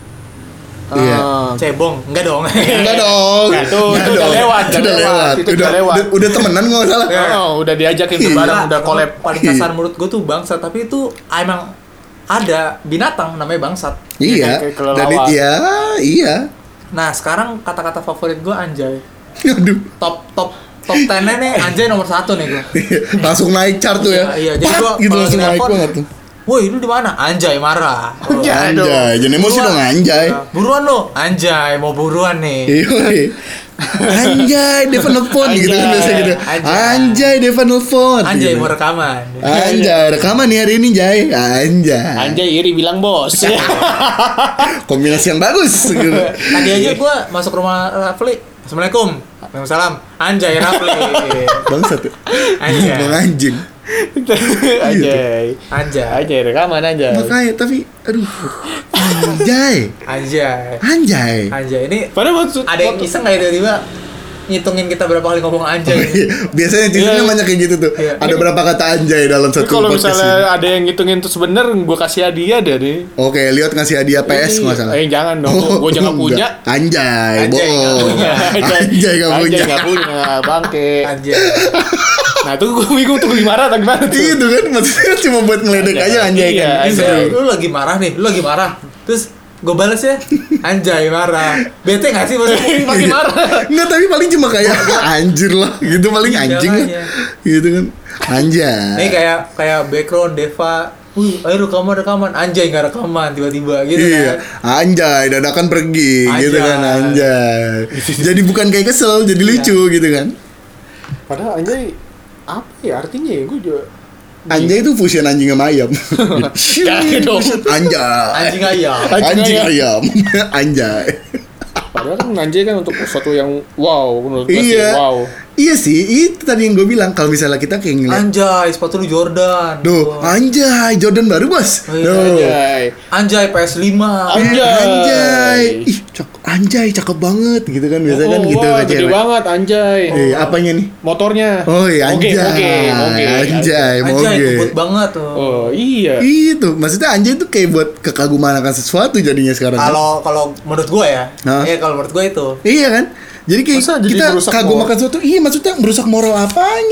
Cebong, enggak dong. Itu udah lewat. Udah temenan nggak salah. Udah diajakin bareng, udah collab. Paling kasar menurut gue tuh bangsat, tapi itu emang ada binatang namanya bangsat. Iya. Dan iya. Nah sekarang kata-kata favorit gue anjay. Aduh. Top 10-nya nih anjay nomor 1 nih gue. Langsung naik chart tuh ya. Iya. Jadi gue gitu langsung naik banget tuh. Woi, lu di mana? Anjay marah. Anjay, jangan emosi dong anjay. Buruan lo. Anjay, mau buruan nih. Anjay, dia nelfon gitu kan biasa gitu. Anjay, dia nelfon. Anjay mau rekaman. Anjay, rekaman nih hari ini, Jay. Anjay iri bilang bos. Kombinasi yang bagus gitu. Tadi aja gua masuk rumah Rafli. Assalamualaikum. Waalaikumsalam. Anjay Rafli. Bangsat. Anjing. Anjay rekaman anjay. Makanya tapi aduh. Anjay. Ini padahal maksud ada yang iseng enggak tiba-tiba ngitungin kita berapa kali ngomong anjay. Biasanya Twitternya banyak kayak gitu tuh. Ada berapa kata anjay dalam satu podcast. Kalau misalnya ada yang ngitungin terus bener, gue kasih hadiah deh nih. Oke, lihat ngasih hadiah PS nggak salah. Jangan dong, gue jangan punya. Anjay, bohong. Anjay nggak punya, bangke. Anjay. Nah tuh gue bingung tuh gimana atau gimana tuh. Itu kan maksudnya cuma buat ngeledek aja anjay kan. Lu lagi marah nih, terus gue balas ya, anjay marah. Bete gak sih maksudnya makin marah? Enggak, tapi paling cuma kayak anjir lah gitu, paling anjing lah gitu kan. Anjay. Ini kayak background Deva, ayo rekaman, anjay gak rekaman tiba-tiba gitu kan. Anjay, dadakan pergi gitu kan, anjay. Jadi bukan kayak kesel, jadi lucu gitu kan. Padahal anjay apa ya artinya ya, gue juga anjay itu fusion anjing sama ayam. dong. Anjing ayam. Anjay. Padahal kan anjay kan untuk sesuatu yang wow menurut gue sih wow. Iya sih, itu tadi yang gue bilang kalau misalnya kita kayak ngeliat anjay sepatu lu Jordan. Anjay Jordan baru bos. Anjay PS5. Anjay. Ih, anjay cakep banget gitu kan biasa kan gitu aja. Gede banget anjay. Apanya nih? Motornya. Oh iya anjay. Anjay ngebut banget tuh. Oh iya. Itu maksudnya anjay itu kayak buat kekaguman akan sesuatu jadinya sekarang. Kalau menurut gue ya. Kalau menurut gue itu. Iya kan? Jadi kayak kita kagum akan sesuatu. Iya maksudnya merusak moral apanya?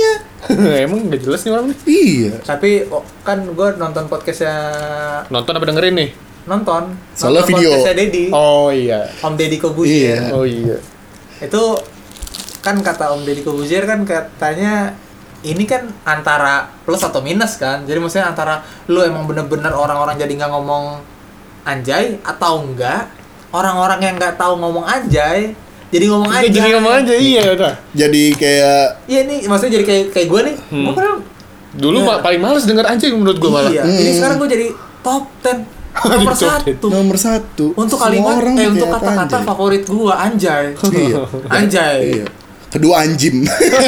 Emang gak jelas nih orang nih. Iya. Tapi kan gue nonton podcastnya. Nonton apa dengerin nih? Nonton Soalnya video. podcastnya Deddy. Oh iya. Om Deddy Kobuzier. Iya. Oh iya. Itu kan kata Om Deddy Kobuzier kan katanya ini kan antara plus atau minus kan. Jadi maksudnya antara lu emang bener-bener orang-orang jadi nggak ngomong anjay atau enggak orang-orang yang nggak tahu ngomong anjay jadi ngomong anjay. Jadi ngomong aja iya udah. Jadi kayak Iya nih maksudnya jadi kayak gue nih. Gue kan Dulu Iya. paling males denger anjing menurut gue malah. Iya. Ini sekarang gue jadi top 10 nomor Top 10. 1 nomor 1 untuk kalimat untuk kata-kata favorit gua anjay. Iya. Anjay. Iya. Kedua anjim.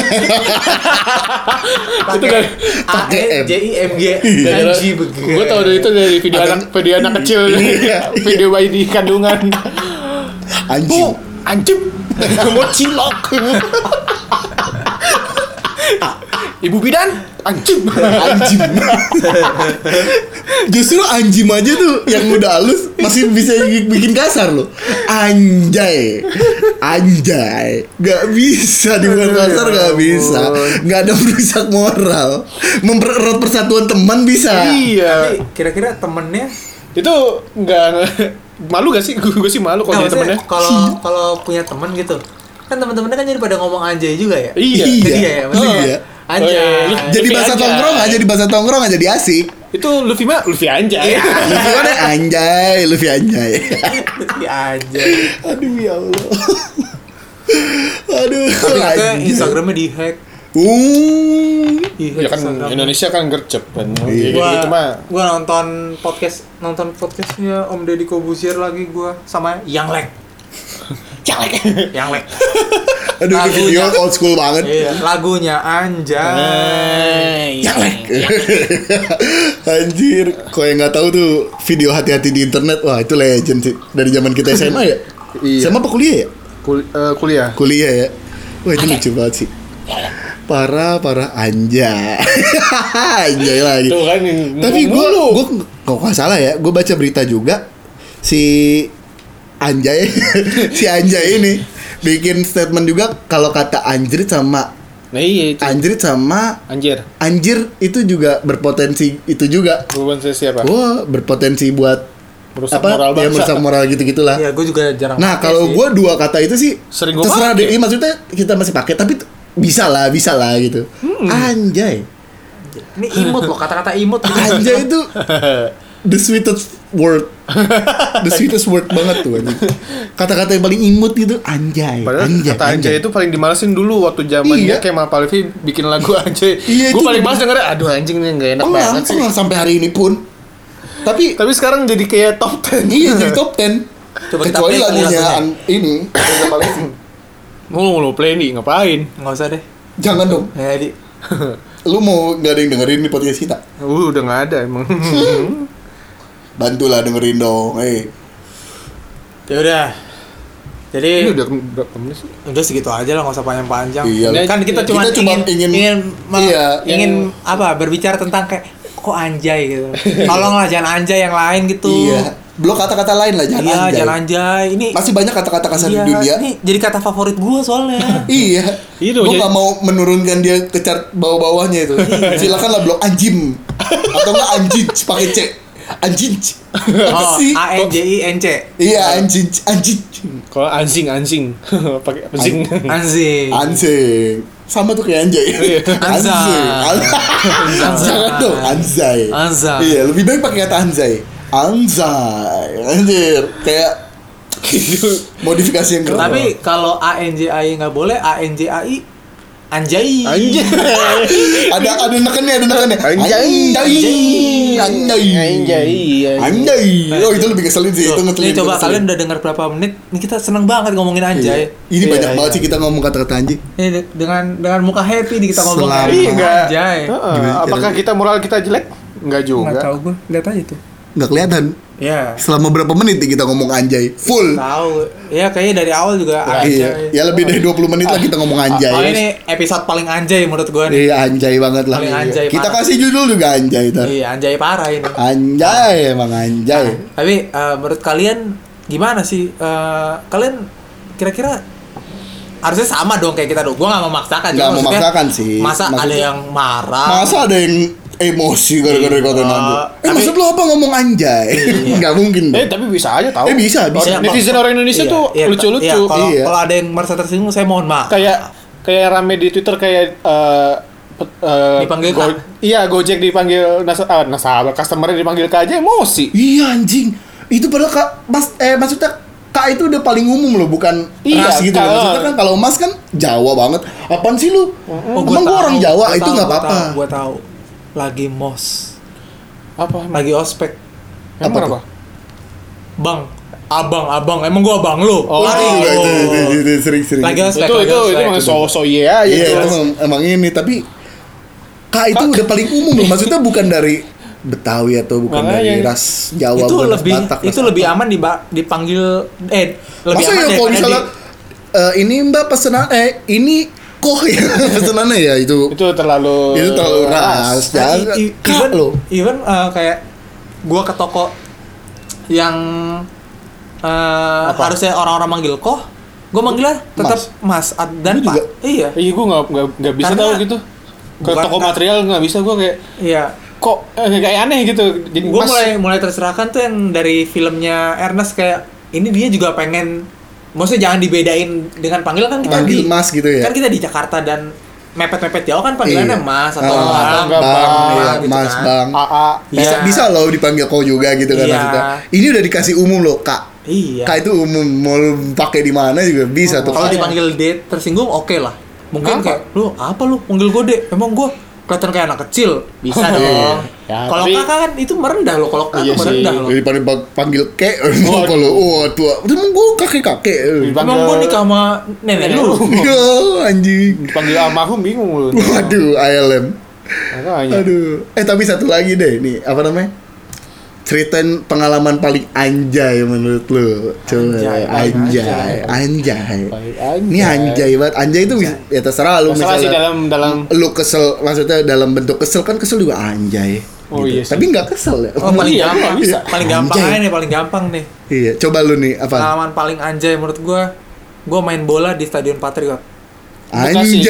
Itu kan A E J I M G anjing begitu. gue tau dari itu dari video anak kecil, Iya. video bayi di kandungan. Anjim. Anjing mau cilok. Ibu bidan anjing. Anjim. Justru anjim aja tuh yang udah halus masih bisa bikin kasar loh. Anjay. Anjay. Gak bisa dibuat kasar, gak bisa. Gak ada merusak moral. Mempererat persatuan teman bisa. Iya. Tapi kira-kira temennya Itu nggak malu gak sih? Gue sih malu kalau jadi temennya. kalau punya temen gitu kan teman-temannya kan jadi pada ngomong anjay juga ya. Iya. Jadi ya maksudnya Iya. anjay. Jadi Luffy bahasa aja. tongkrongan, jadi bahasa tongkrongan jadi asik. Itu Luffy mah Luffy anjay. Luffy mana anjay, Luffy anjay. Anjay. Aduh ya Allah. Aduh. Tapi katanya anjay. Instagramnya dihack. Ya kan Indonesia kan gercep kan. Iya. Kayak gitu mah. Gua nonton podcastnya Om Deddy Kobuzier lagi gua sama Yang Lek. Yang Lek. Aduh, ini video old school banget. Iya, lagunya anjay. Yang lek. Anjir, kok yang nggak tahu tuh video hati-hati di internet, wah itu legend sih dari zaman kita SMA ya. Iya. SMA apa kuliah ya? Kuliah. Kuliah ya. Wah itu lucu banget sih. Parah anjay. Anjay lagi. Tuh kan. Tapi gue kok nggak salah ya, gue baca berita juga si Anjay si Anjay ini bikin statement juga kalau kata anjrit sama Nah iya itu. anjrit sama Anjir. anjir itu juga berpotensi itu juga. Bukan saya siapa? Wah, berpotensi buat Merusak apa? moral Ya bangsa. merusak moral gitu-gitulah. Iya, gua juga jarang. Nah, pakai kalau sih. gue dua kata itu sih Sering gua terserah pakai. deh. Iya, maksudnya kita masih pakai tapi bisa lah gitu. Anjay. Ini imut loh, kata-kata imut gitu. Anjay itu the sweetest word. The sweetest word banget tuh anjing. Kata-kata yang paling imut gitu, anjay. Padahal kata anjay itu paling dimalesin dulu waktu zamannya Iya. Kemal Palevi bikin lagu anjay. Iya, Gue itu paling juga. males dengernya, aduh anjing nih gak enak banget sih. Pengang sampai hari ini pun. Tapi Tapi sekarang jadi kayak top 10. iya jadi top 10. Coba kita Kecuali play kali lagunya lagunya. ini Reza Palevi. Mau play nih ngapain? Nggak usah deh. Jangan dong. Ya, di. Lu mau gak ada yang dengerin di podcast kita? Udah nggak ada emang. Bantulah dengerin dong. Ya udah. Ini Jadi udah berapa menit sih? udah segitu aja lah, nggak usah panjang-panjang. Iya. Kan kita Kita cuma cuma ingin- iya, iya, ingin apa? Berbicara tentang kayak kok anjay gitu. Tolonglah jangan anjay yang lain gitu. Iya. Blok kata-kata lain lah, jangan Iya, anjay. jangan anjay. Ini Masih banyak kata-kata kasar iya, di dunia. Ini jadi kata favorit gua soalnya. Iya. Iya Gue dong, gak mau menurunkan dia ke chart bawah-bawahnya itu. Silakanlah blok anjim atau enggak anjing pakai C. Anjing. Apa Oh, sih? A N J I N C. Iya anjing. Kalau anjing pakai anjing. Anjing. Anjing. Sama tuh kayak anjay. Anjay. Jangan dong anjay. Anjay. Iya, lebih baik pakai kata anjay. Anjay. Anjir. Kayak modifikasi yang keren. Tapi kalau A N J I nggak boleh, A N J A I anjay. Anjay. ada nekannya. Anjay. Anjay. Anjay. Oh, itu lebih ngeselin sih. Itu Nih ngeselin. coba ngeselin. kalian udah dengar berapa menit? Ini kita seneng banget ngomongin Iya. anjay. Ini Iya, banyak iya. banget sih kita ngomong kata-kata anjing. Ini dengan muka happy nih kita ngomong Selama- Iya enggak. anjay. Apakah kita moral kita jelek? Enggak Nggak juga. tahu gue, lihat aja tuh. Nggak kelihatan. Ya. Selama berapa menit nih kita ngomong anjay? Full. Tahu. Ya kayaknya dari awal juga Iya. anjay. Ya lebih dari 20 menit lah kita ngomong Oh, anjay. ini episode paling anjay menurut gue nih. Iya, anjay banget lah. Paling anjay Kita parah. kasih judul juga anjay tar. Iya, anjay parah ini. Anjay, emang anjay. Tapi menurut kalian gimana sih? Kalian kira-kira harusnya sama dong kayak kita dong. Gue nggak memaksakan. Nggak memaksakan sih. Masa maksudnya, ada yang marah? Masa ada yang emosi gara-gara dikatain anjay? Maksud lo apa ngomong anjay? Nggak mungkin dong. Tapi bisa aja tahu. Bisa. Netizen orang Indonesia tuh lucu-lucu. Kalau ada yang merasa tersinggung, saya mohon maaf. Kayak rame di Twitter kayak dipanggil Iya, Gojek dipanggil nasabah, customer-nya dipanggil Kak aja emosi. Iya anjing. Itu padahal maksudnya Kak itu udah paling umum loh, bukan ras gitu. Maksudnya kan kalau Mas kan Jawa banget. Apaan sih lu? Emang gua orang Jawa itu nggak apa-apa. Gua tahu. Lagi mos. Apa? Lagi ospek. Apa? Bang, abang. Emang gua abang lu? Itu sering-sering. Lagi ospek. Itu emang so iya aja. Iya, itu emang ini, tapi Kak itu udah paling umum loh. Maksudnya bukan dari Betawi atau bukan dari ras Jawa, itu Batak, lebih aman dipanggil lebih masa aman ya kalau misalnya ini Mbak pesanan ini kok ya pesanannya ya itu terlalu ras even kayak gua ke toko yang harusnya orang-orang manggil kok, gua manggilnya tetap Mas dan Pak. Iya, gua nggak bisa tahu gitu. Ke toko material nggak bisa gua kayak kok kayak aneh gitu. Jadi gue mulai terserahkan tuh yang dari filmnya Ernest, kayak ini dia juga pengen, maksudnya jangan dibedain dengan panggilan kan kita panggil Mas gitu ya. Kan kita di Jakarta dan mepet-mepet jauh kan panggilannya Mas atau Bang, gitu Mas kan. Bang. Bisa loh dipanggil kok juga gitu kan maksudnya. Ini udah dikasih umum loh Kak. Iya. Kak itu umum, mau pakai di mana juga bisa tuh. Kalau dipanggil D tersinggung oke lah. Mungkin kayak lu apa lu panggil gue D? Emang gue kelihatan kayak anak kecil, bisa dong. Kalau kakak kan itu merendah loh, kalau kakak merendah loh. Daripada panggil kek, kalau tua, emang gue kakek. Emang gue nikah sama nenek lu. Anjing. Panggil almarhum bingung lu. Waduh, ILM. Aduh. Tapi satu lagi deh, nih apa namanya? Ceritain pengalaman paling anjay menurut lu. Coba anjay. Ini anjay banget. Anjay itu ya terserah lu, misalnya sih dalam lu kesel, maksudnya dalam bentuk kesel kan, kesel juga anjay. Oh gitu. iya. Tapi enggak kesel ya. Paling gampang bisa. Paling gampang Anjay. aja nih, paling gampang nih. Iya, coba lu nih apa? Pengalaman paling anjay menurut gua main bola di Stadion Patriot. Anjay.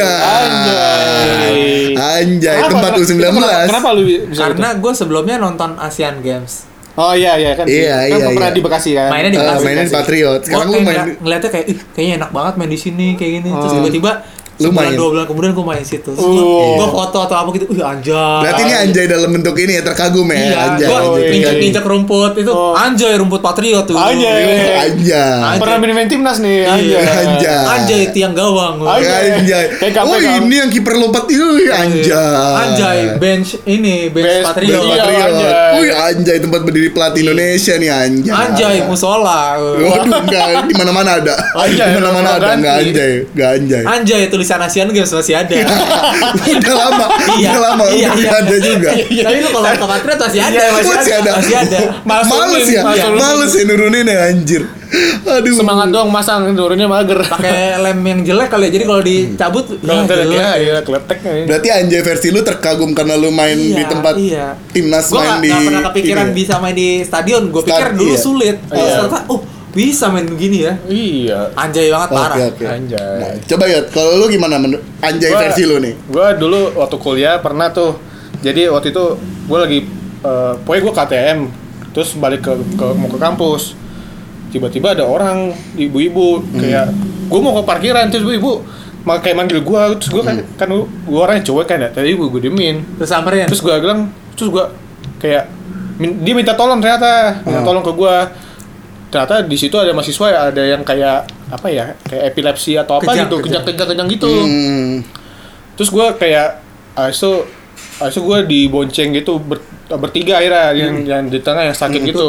Tempat U19. Kenapa lu bisa? Karena gue sebelumnya nonton Asian Games. Oh iya kan. Iya. Pernah di Bekasi kan. Mainnya di Bekasi. Mainnya di Patriot. Sekarang lu main ngeliatnya kayak kayaknya enak banget main di sini kayak gini. Terus tiba-tiba lu main 2 bulan kemudian gue main situ. Gue foto atau apa gitu. Anjay. Berarti ini anjay dalam bentuk ini ya, terkagum ya. Iya, anjay. Gue injek rumput itu. Anjay, rumput Patriot tuh. Anjay. Pernah main timnas nih. Anjay. Tiang gawang. Anjay. Oh, ini yang kiper lompat itu anjay. Anjay, bench Patriot. Wih, anjay, tempat berdiri pelatih Indonesia nih anjay. Anjay, musola. Waduh, enggak, di mana-mana ada. Di mana-mana ada, enggak anjay. Anjay, tulisan Asian Games masih ada. Udah lama ada juga. Tapi lu kalau ke Patriot masih ada. Males ya nurunin ya anjir. Aduh. Semangat doang masang, turunnya mager. Pakai lem yang jelek kali ya. Jadi kalau dicabut ya kletek. Berarti anjay versi lu terkagum karena lu main di tempat timnas main di. Gua enggak pernah kepikiran bisa main di stadion. Gua pikir dulu sulit. Ternyata bisa main begini ya. Iya. Anjay banget parah. Okay. Anjay. Nah, coba Yot, kalau lu gimana anjay versi lu nih? Gua dulu waktu kuliah pernah tuh. Jadi waktu itu gua lagi pokoknya gua KTM, terus balik mau ke kampus. Tiba-tiba ada orang ibu-ibu kayak gua mau ke parkiran, terus ibu kayak manggil gua, terus gua kan gua orangnya cowok kan ya. Tadi gua demin. Terus samperin. Terus gua bilang, terus gua kayak dia minta tolong ternyata, tolong ke gua. Ternyata di situ ada mahasiswa, ada yang kayak apa ya, kayak epilepsi atau apa gitu, kejang gitu. Terus gue kayak aso gue dibonceng gitu bertiga akhirnya yang di tengah yang sakit gitu.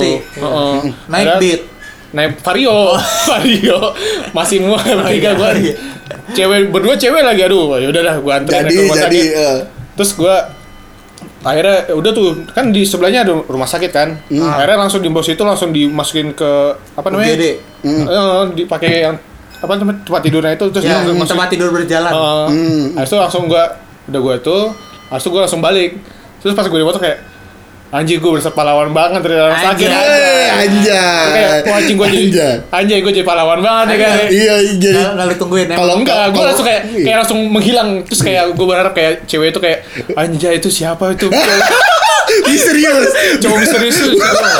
Naik Vario masih mau bertiga gue. Berdua cewek lagi, aduh ya udahlah gue anterin ke rumah sakit. Terus gue akhirnya udah tuh kan di sebelahnya ada rumah sakit kan. Akhirnya langsung di bawah situ langsung dimasukin ke apa namanya? Dipakai yang apa namanya tempat tidurnya itu, terus tempat tidur berjalan. Habis itu langsung gua langsung balik. Terus pas gue di motor kayak Anjing gue berasa pahlawan banget dari dalam sakit. Anjay. Kayak anjing gue jadi anjing gue jadi pahlawan banget ya kan. Iya, jadi Nggak lu tungguin ya. Kalau enggak, gue langsung kayak langsung menghilang. Terus kayak gue berharap kayak cewek itu kayak anjay itu siapa itu? serius. Cowok misterius itu.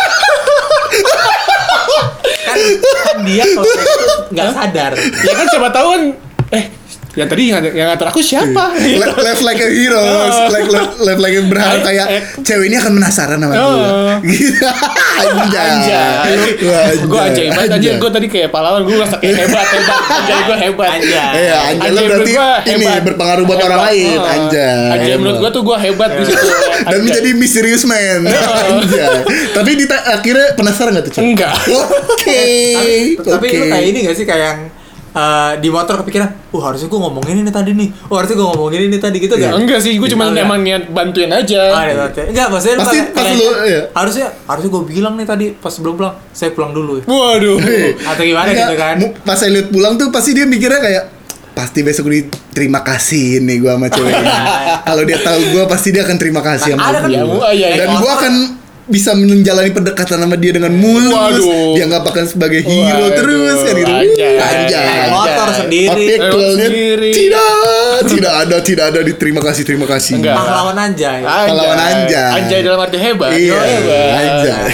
kan dia kalau itu nggak sadar. Ya kan siapa tahu kan yang tadi yang ngatur aku siapa? Live like a hero, live like a berharap kayak cewek ini akan penasaran sama gue. Gitu. Anjay. Gue anjay banget anjay. Gue tadi kayak pahlawan, gue ngerasa kayak hebat. Anjay gue hebat. Iya, anjay lo berarti ini berpengaruh buat orang lain. Anjay. Menurut gue tuh gue hebat di situ. Dan menjadi misterius man. Anjay. Tapi akhirnya penasaran enggak tuh? Enggak. Oke. Tapi lu kayak ini enggak sih kayak yang di motor kepikiran, harusnya gue ngomongin ini tadi nih, harusnya gue ngomongin ini tadi gitu gak? Enggak sih, gue cuma emang niat bantuin aja. Enggak, maksudnya pasti pas lu harusnya gue bilang nih tadi pas sebelum pulang, saya pulang dulu. Waduh. Atau gimana gitu kan? Pas saya lihat pulang tuh pasti dia mikirnya kayak pasti besok terima kasih nih gue sama cewek ini. Kalau dia tahu gue pasti dia akan terima kasih sama gue. Dan gue akan bisa menjalani pendekatan sama dia dengan mulus. Waduh. Dia anggapkan sebagai hero terus kan gitu. Anjay. Motor sendiri. Tidak ada di terima kasih. Pahlawan anjay. Anjay dalam arti hebat. Iya. Anjay.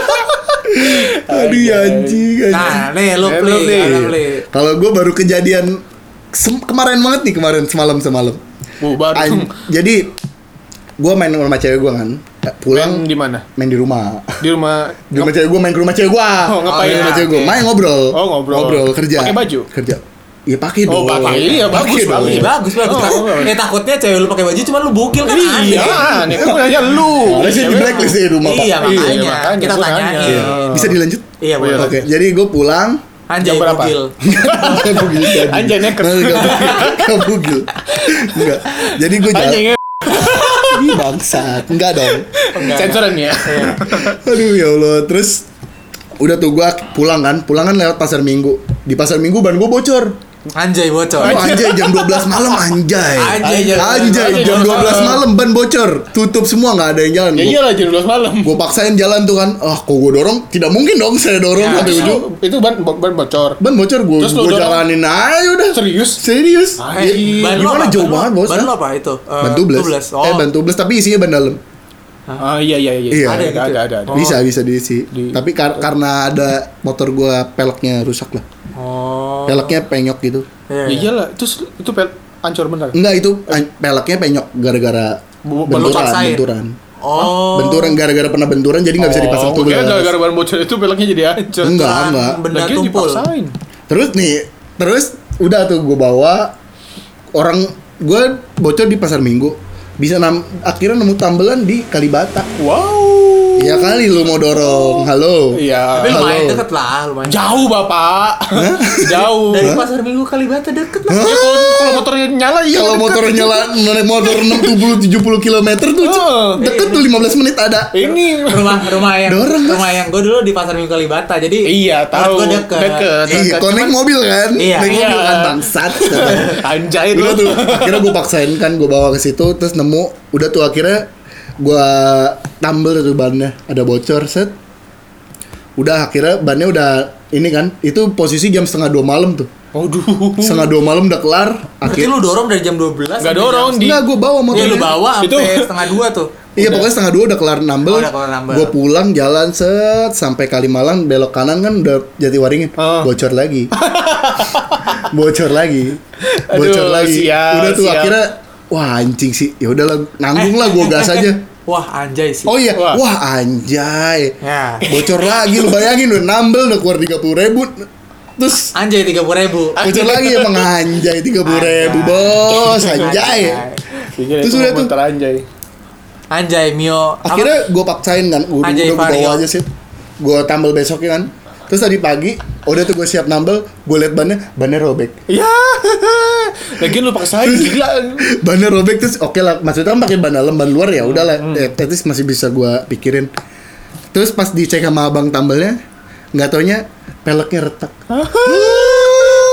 Aduh anjing. Nah, nih lu play. Kalau gue baru kejadian kemarin semalam. Jadi gue main sama cewek gue kan. Pulang di mana? Main di rumah. Di rumah cewek gue, main ke rumah cewek gue. Oh, ngapain? Main ke rumah cewek gue. Main ngobrol. Oh, ngobrol. Kerja. Pakai baju? Kerja. Iya pakai dong. Oh, pakai. Iya, bagus. Takutnya cewek lu pakai baju cuma lu bukil kan. Iya, nih kan nanya lu. Harusnya di blacklist di rumah, Pak. Iya, makanya kita tanyain. Bisa dilanjut? Iya, boleh. Oke, jadi gue pulang. Anjay bugil. Anjay neker. Gak bugil. Enggak. Jadi gue jalan. Ih bangsat. Enggak dong. Sensoran ya. Aduh ya Allah. Terus udah tuh gue pulang kan lewat pasar Minggu. Di pasar Minggu ban gue bocor. Anjay bocor. Anjay jam 12 malam anjay. Anjay jam 12 malam ban bocor. Tutup semua enggak ada yang jalan. Ya iyalah jam 12 malam. Gue paksain jalan tuh kan. Kok gue dorong? Tidak mungkin dong saya dorong sampai ujung. Itu ban bocor. Ban bocor gue jalanin aja udah. Serius. Gimana jauh banget bos? Ban apa itu? Ban tubles. Ban tubles tapi isinya ban dalam. Iya. Ada. Bisa diisi. Tapi karena ada motor gue peleknya rusak lah. Peleknya penyok gitu. Iyalah, terus itu hancur benar. Enggak, itu peleknya penyok gara-gara benturan. Benturan gara-gara pernah benturan jadi enggak bisa dipasang tubles. Gara-gara ban bocor itu peleknya jadi hancur. Enggak. Benda tumpul. Terus udah tuh gue bawa orang gue bocor di pasar Minggu. Bisa akhirnya nemu tambelan di Kalibata. Wow. Ya kali lu mau dorong. Halo. Iya. Tapi lumayan deket lah, lumayan. Jauh, Bapak. Jauh. Dari pasar Minggu Kalibata deket lah. Kalau motornya nyala iya. Kalau motornya nyala naik motor 60-70 km tuh deket tuh 15 menit ada. Ini rumah yang gue dulu di pasar Minggu Kalibata. Jadi iya, tahu. Deket. Iya, connect mobil kan? Iya. Naik mobil kan bangsat. Anjay udah tuh. Akhirnya gue paksain kan gue bawa ke situ terus nemu udah tuh akhirnya gua tambel tuh bannya ada bocor set udah akhirnya bannya udah ini kan itu posisi jam 1:30 malam tuh. Waduh. 1:30 malam udah kelar. Berarti lu dorong dari jam 12. Enggak dorong enggak gua bawa motornya. Iya lu bawa sampai 1:30 tuh. Iya pokoknya 1:30 udah kelar nambel. Gua pulang jalan set sampai Kalimalang belok kanan kan udah Jatiwaringin. Bocor lagi. Bocor lagi. Udah tuh akhirnya wah anjing sih. Ya udahlah nanggung lah gua gas aja. Wah anjay sih. Oh iya, wah anjay. Ya. Bocor lagi lu bayangin udah nambel udah keluar 30.000. Terus anjay 30.000. Bocor lagi emang anjay 30.000 bos, anjay. Terus udah tuh Anjay Mio. Akhirnya gue paksain kan, udah gue bawa aja sih. Gue tambel besoknya kan. Terus tadi pagi, udah tuh gue siap nambel, gue liat bannya robek. Ya. Lagian lu paksain gila. Bannya robek terus oke lah, maksudnya kan pakai ban dalam, ban luar ya udahlah, tetis masih bisa gue pikirin. Terus pas dicek sama abang tambelnya, nggak taunya peleknya retak.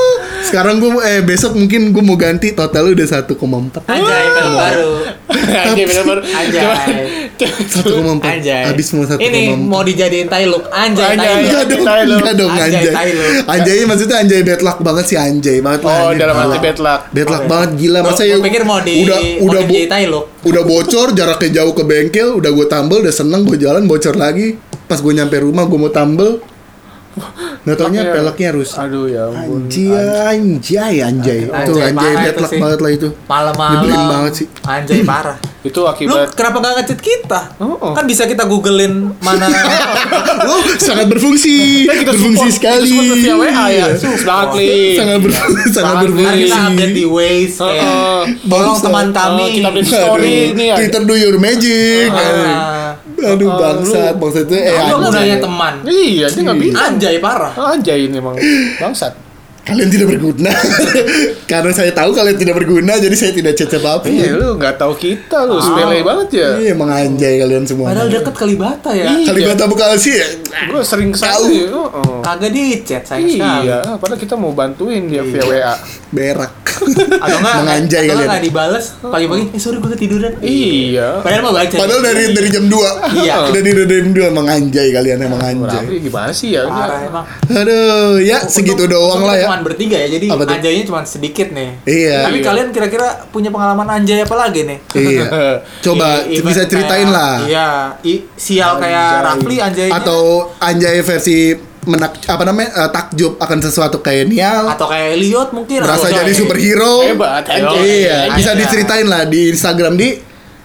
Sekarang gue besok mungkin gue mau ganti, total udah 1,4. Anjay, film baru. Anjay, film baru. Anjay. 1,4. Anjay. Habis mau 1,4. Ini mau dijadiin Tailuk. Anjay, Tailuk. Enggak dong Anjay. Anjay maksudnya Anjay bad luck banget sih Anjay banget lah. Oh, dalam arti bad luck. Bad luck banget gila. Masa ya pikir mau jadi Tailuk. Udah bocor, jaraknya jauh ke bengkel, udah gue tambel, udah seneng gue jalan, bocor lagi. Pas gue nyampe rumah gue mau tambel, nggak taunya peleknya rusak. Aduh ya ampun. Anjay. Itu Anjay bad luck banget lah itu. Malam-malam. Nyebelin banget sih. Anjay parah. Itu akibat. Lu kenapa nggak ngechat kita? Kan bisa kita googlein mana. Lu sangat berfungsi. Berfungsi sekali. Kita support via WA ya. Semangat nih. Sangat berfungsi. Kita update di Waze. Tolong teman kami. Kita update story nih. Twitter do your magic. Aduh bangsat itu lu gunanya teman. Iya, dia nggak bisa. Anjay parah. Anjay ini emang bangsat. Kalian tidak berguna. Karena saya tahu kalian tidak berguna, jadi saya tidak cecep apa. Iya, lu nggak tahu kita, lu sepele banget ya. Iya, emang anjay kalian semua. Padahal deket Kalibata ya. Kalibata Bekasi ya. Gue sering Tahu. Kagak di chat sayang sekali. Iya, padahal kita mau bantuin dia via WA. Berak. Atau enggak? Menganjay atau kalian. Enggak dibales pagi-pagi. Sorry gue ketiduran. Iya. Padahal mau baca. Padahal dari jam 2. Iya. Dari jam 2 emang anjay kalian emang anjay. Tapi gimana sih ya? Parah emang. Aduh, ya segitu doang lah ya. Cuma bertiga ya, jadi anjaynya cuma sedikit nih. Iya. Tapi kalian kira-kira punya pengalaman anjay apa lagi nih? Iya. Coba bisa ceritain lah. Iya, sial kayak Rafli anjaynya. Atau anjay versi takjub akan sesuatu kayak Nial atau kayak Elliot mungkin merasa jadi superhero. Hebat anjay. Iya, bisa diceritain lah di Instagram di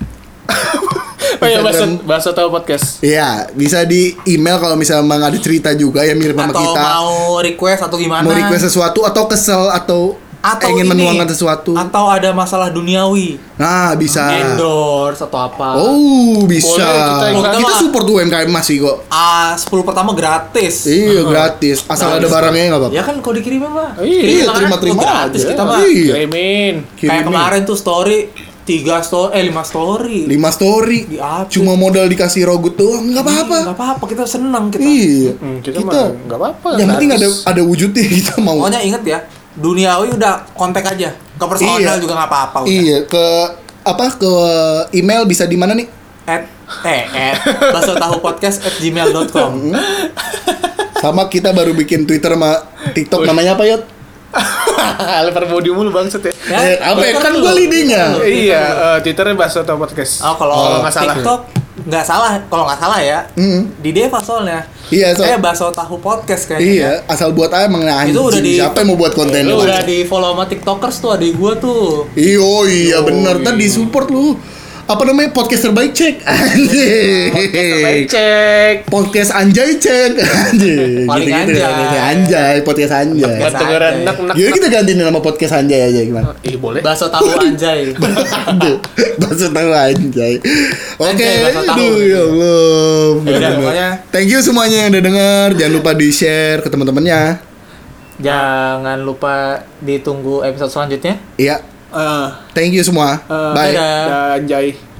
bahasa tahu podcast. Iya, bisa di email kalau misalnya emang ada cerita juga yang mirip sama kita. Atau mau request atau gimana? Mau request sesuatu atau kesel atau ingin menuangkan sesuatu. Atau ada masalah duniawi. Nah, bisa. Endorse atau apa. Oh, bisa. Boleh, kita support UMKM masih kok. 10 pertama gratis. Iya, gratis. Asal ada barangnya enggak apa-apa. Ya kan kalau dikirimin mah. Iya, terima-terima gratis aja. kita mah. Iya. Kirimin. Kayak kemarin tuh story 5 story. 5 story. Cuma modal dikasih rogut doang, enggak apa-apa. Enggak apa-apa, kita senang kita. Iya. Kita mah enggak apa-apa. Yang penting ada wujudnya kita mau. Pokoknya inget ya, duniawi udah kontak aja. Ke personal juga enggak apa-apa udah. Iya, ke email bisa di mana nih? @basotahupodcast@gmail.com. Sama kita baru bikin Twitter sama TikTok namanya apa, Yot? Lebar body mulu bangsat ya. Apa ya? Kan gue leadingnya. Iya, Twitternya Baso Tahu Podcast. Kalau nggak salah. TikTok nggak salah, kalau nggak salah ya. Di Deva soalnya. Iya, Baso Tahu Podcast kayaknya. Iya, asal buat aja emang anjing. Itu udah siapa yang mau buat konten lu? Udah di follow sama TikTokers tuh adik gua tuh. Iya bener, tadi support lu. Apa namanya, podcast terbaik cek anjing. Podcast anjay cek anjing. Paling anjay podcast anjay. Jadi kita gantiin nama podcast anjay aja gimana? Boleh. Baso tahu anjay. Baso tahu anjay. Oke, aduh ya Allah. Thank you semuanya yang udah denger. Jangan lupa di share ke teman-temannya. Jangan lupa ditunggu episode selanjutnya. Iya. Thank you semua. Bye. Dadah. Anjay.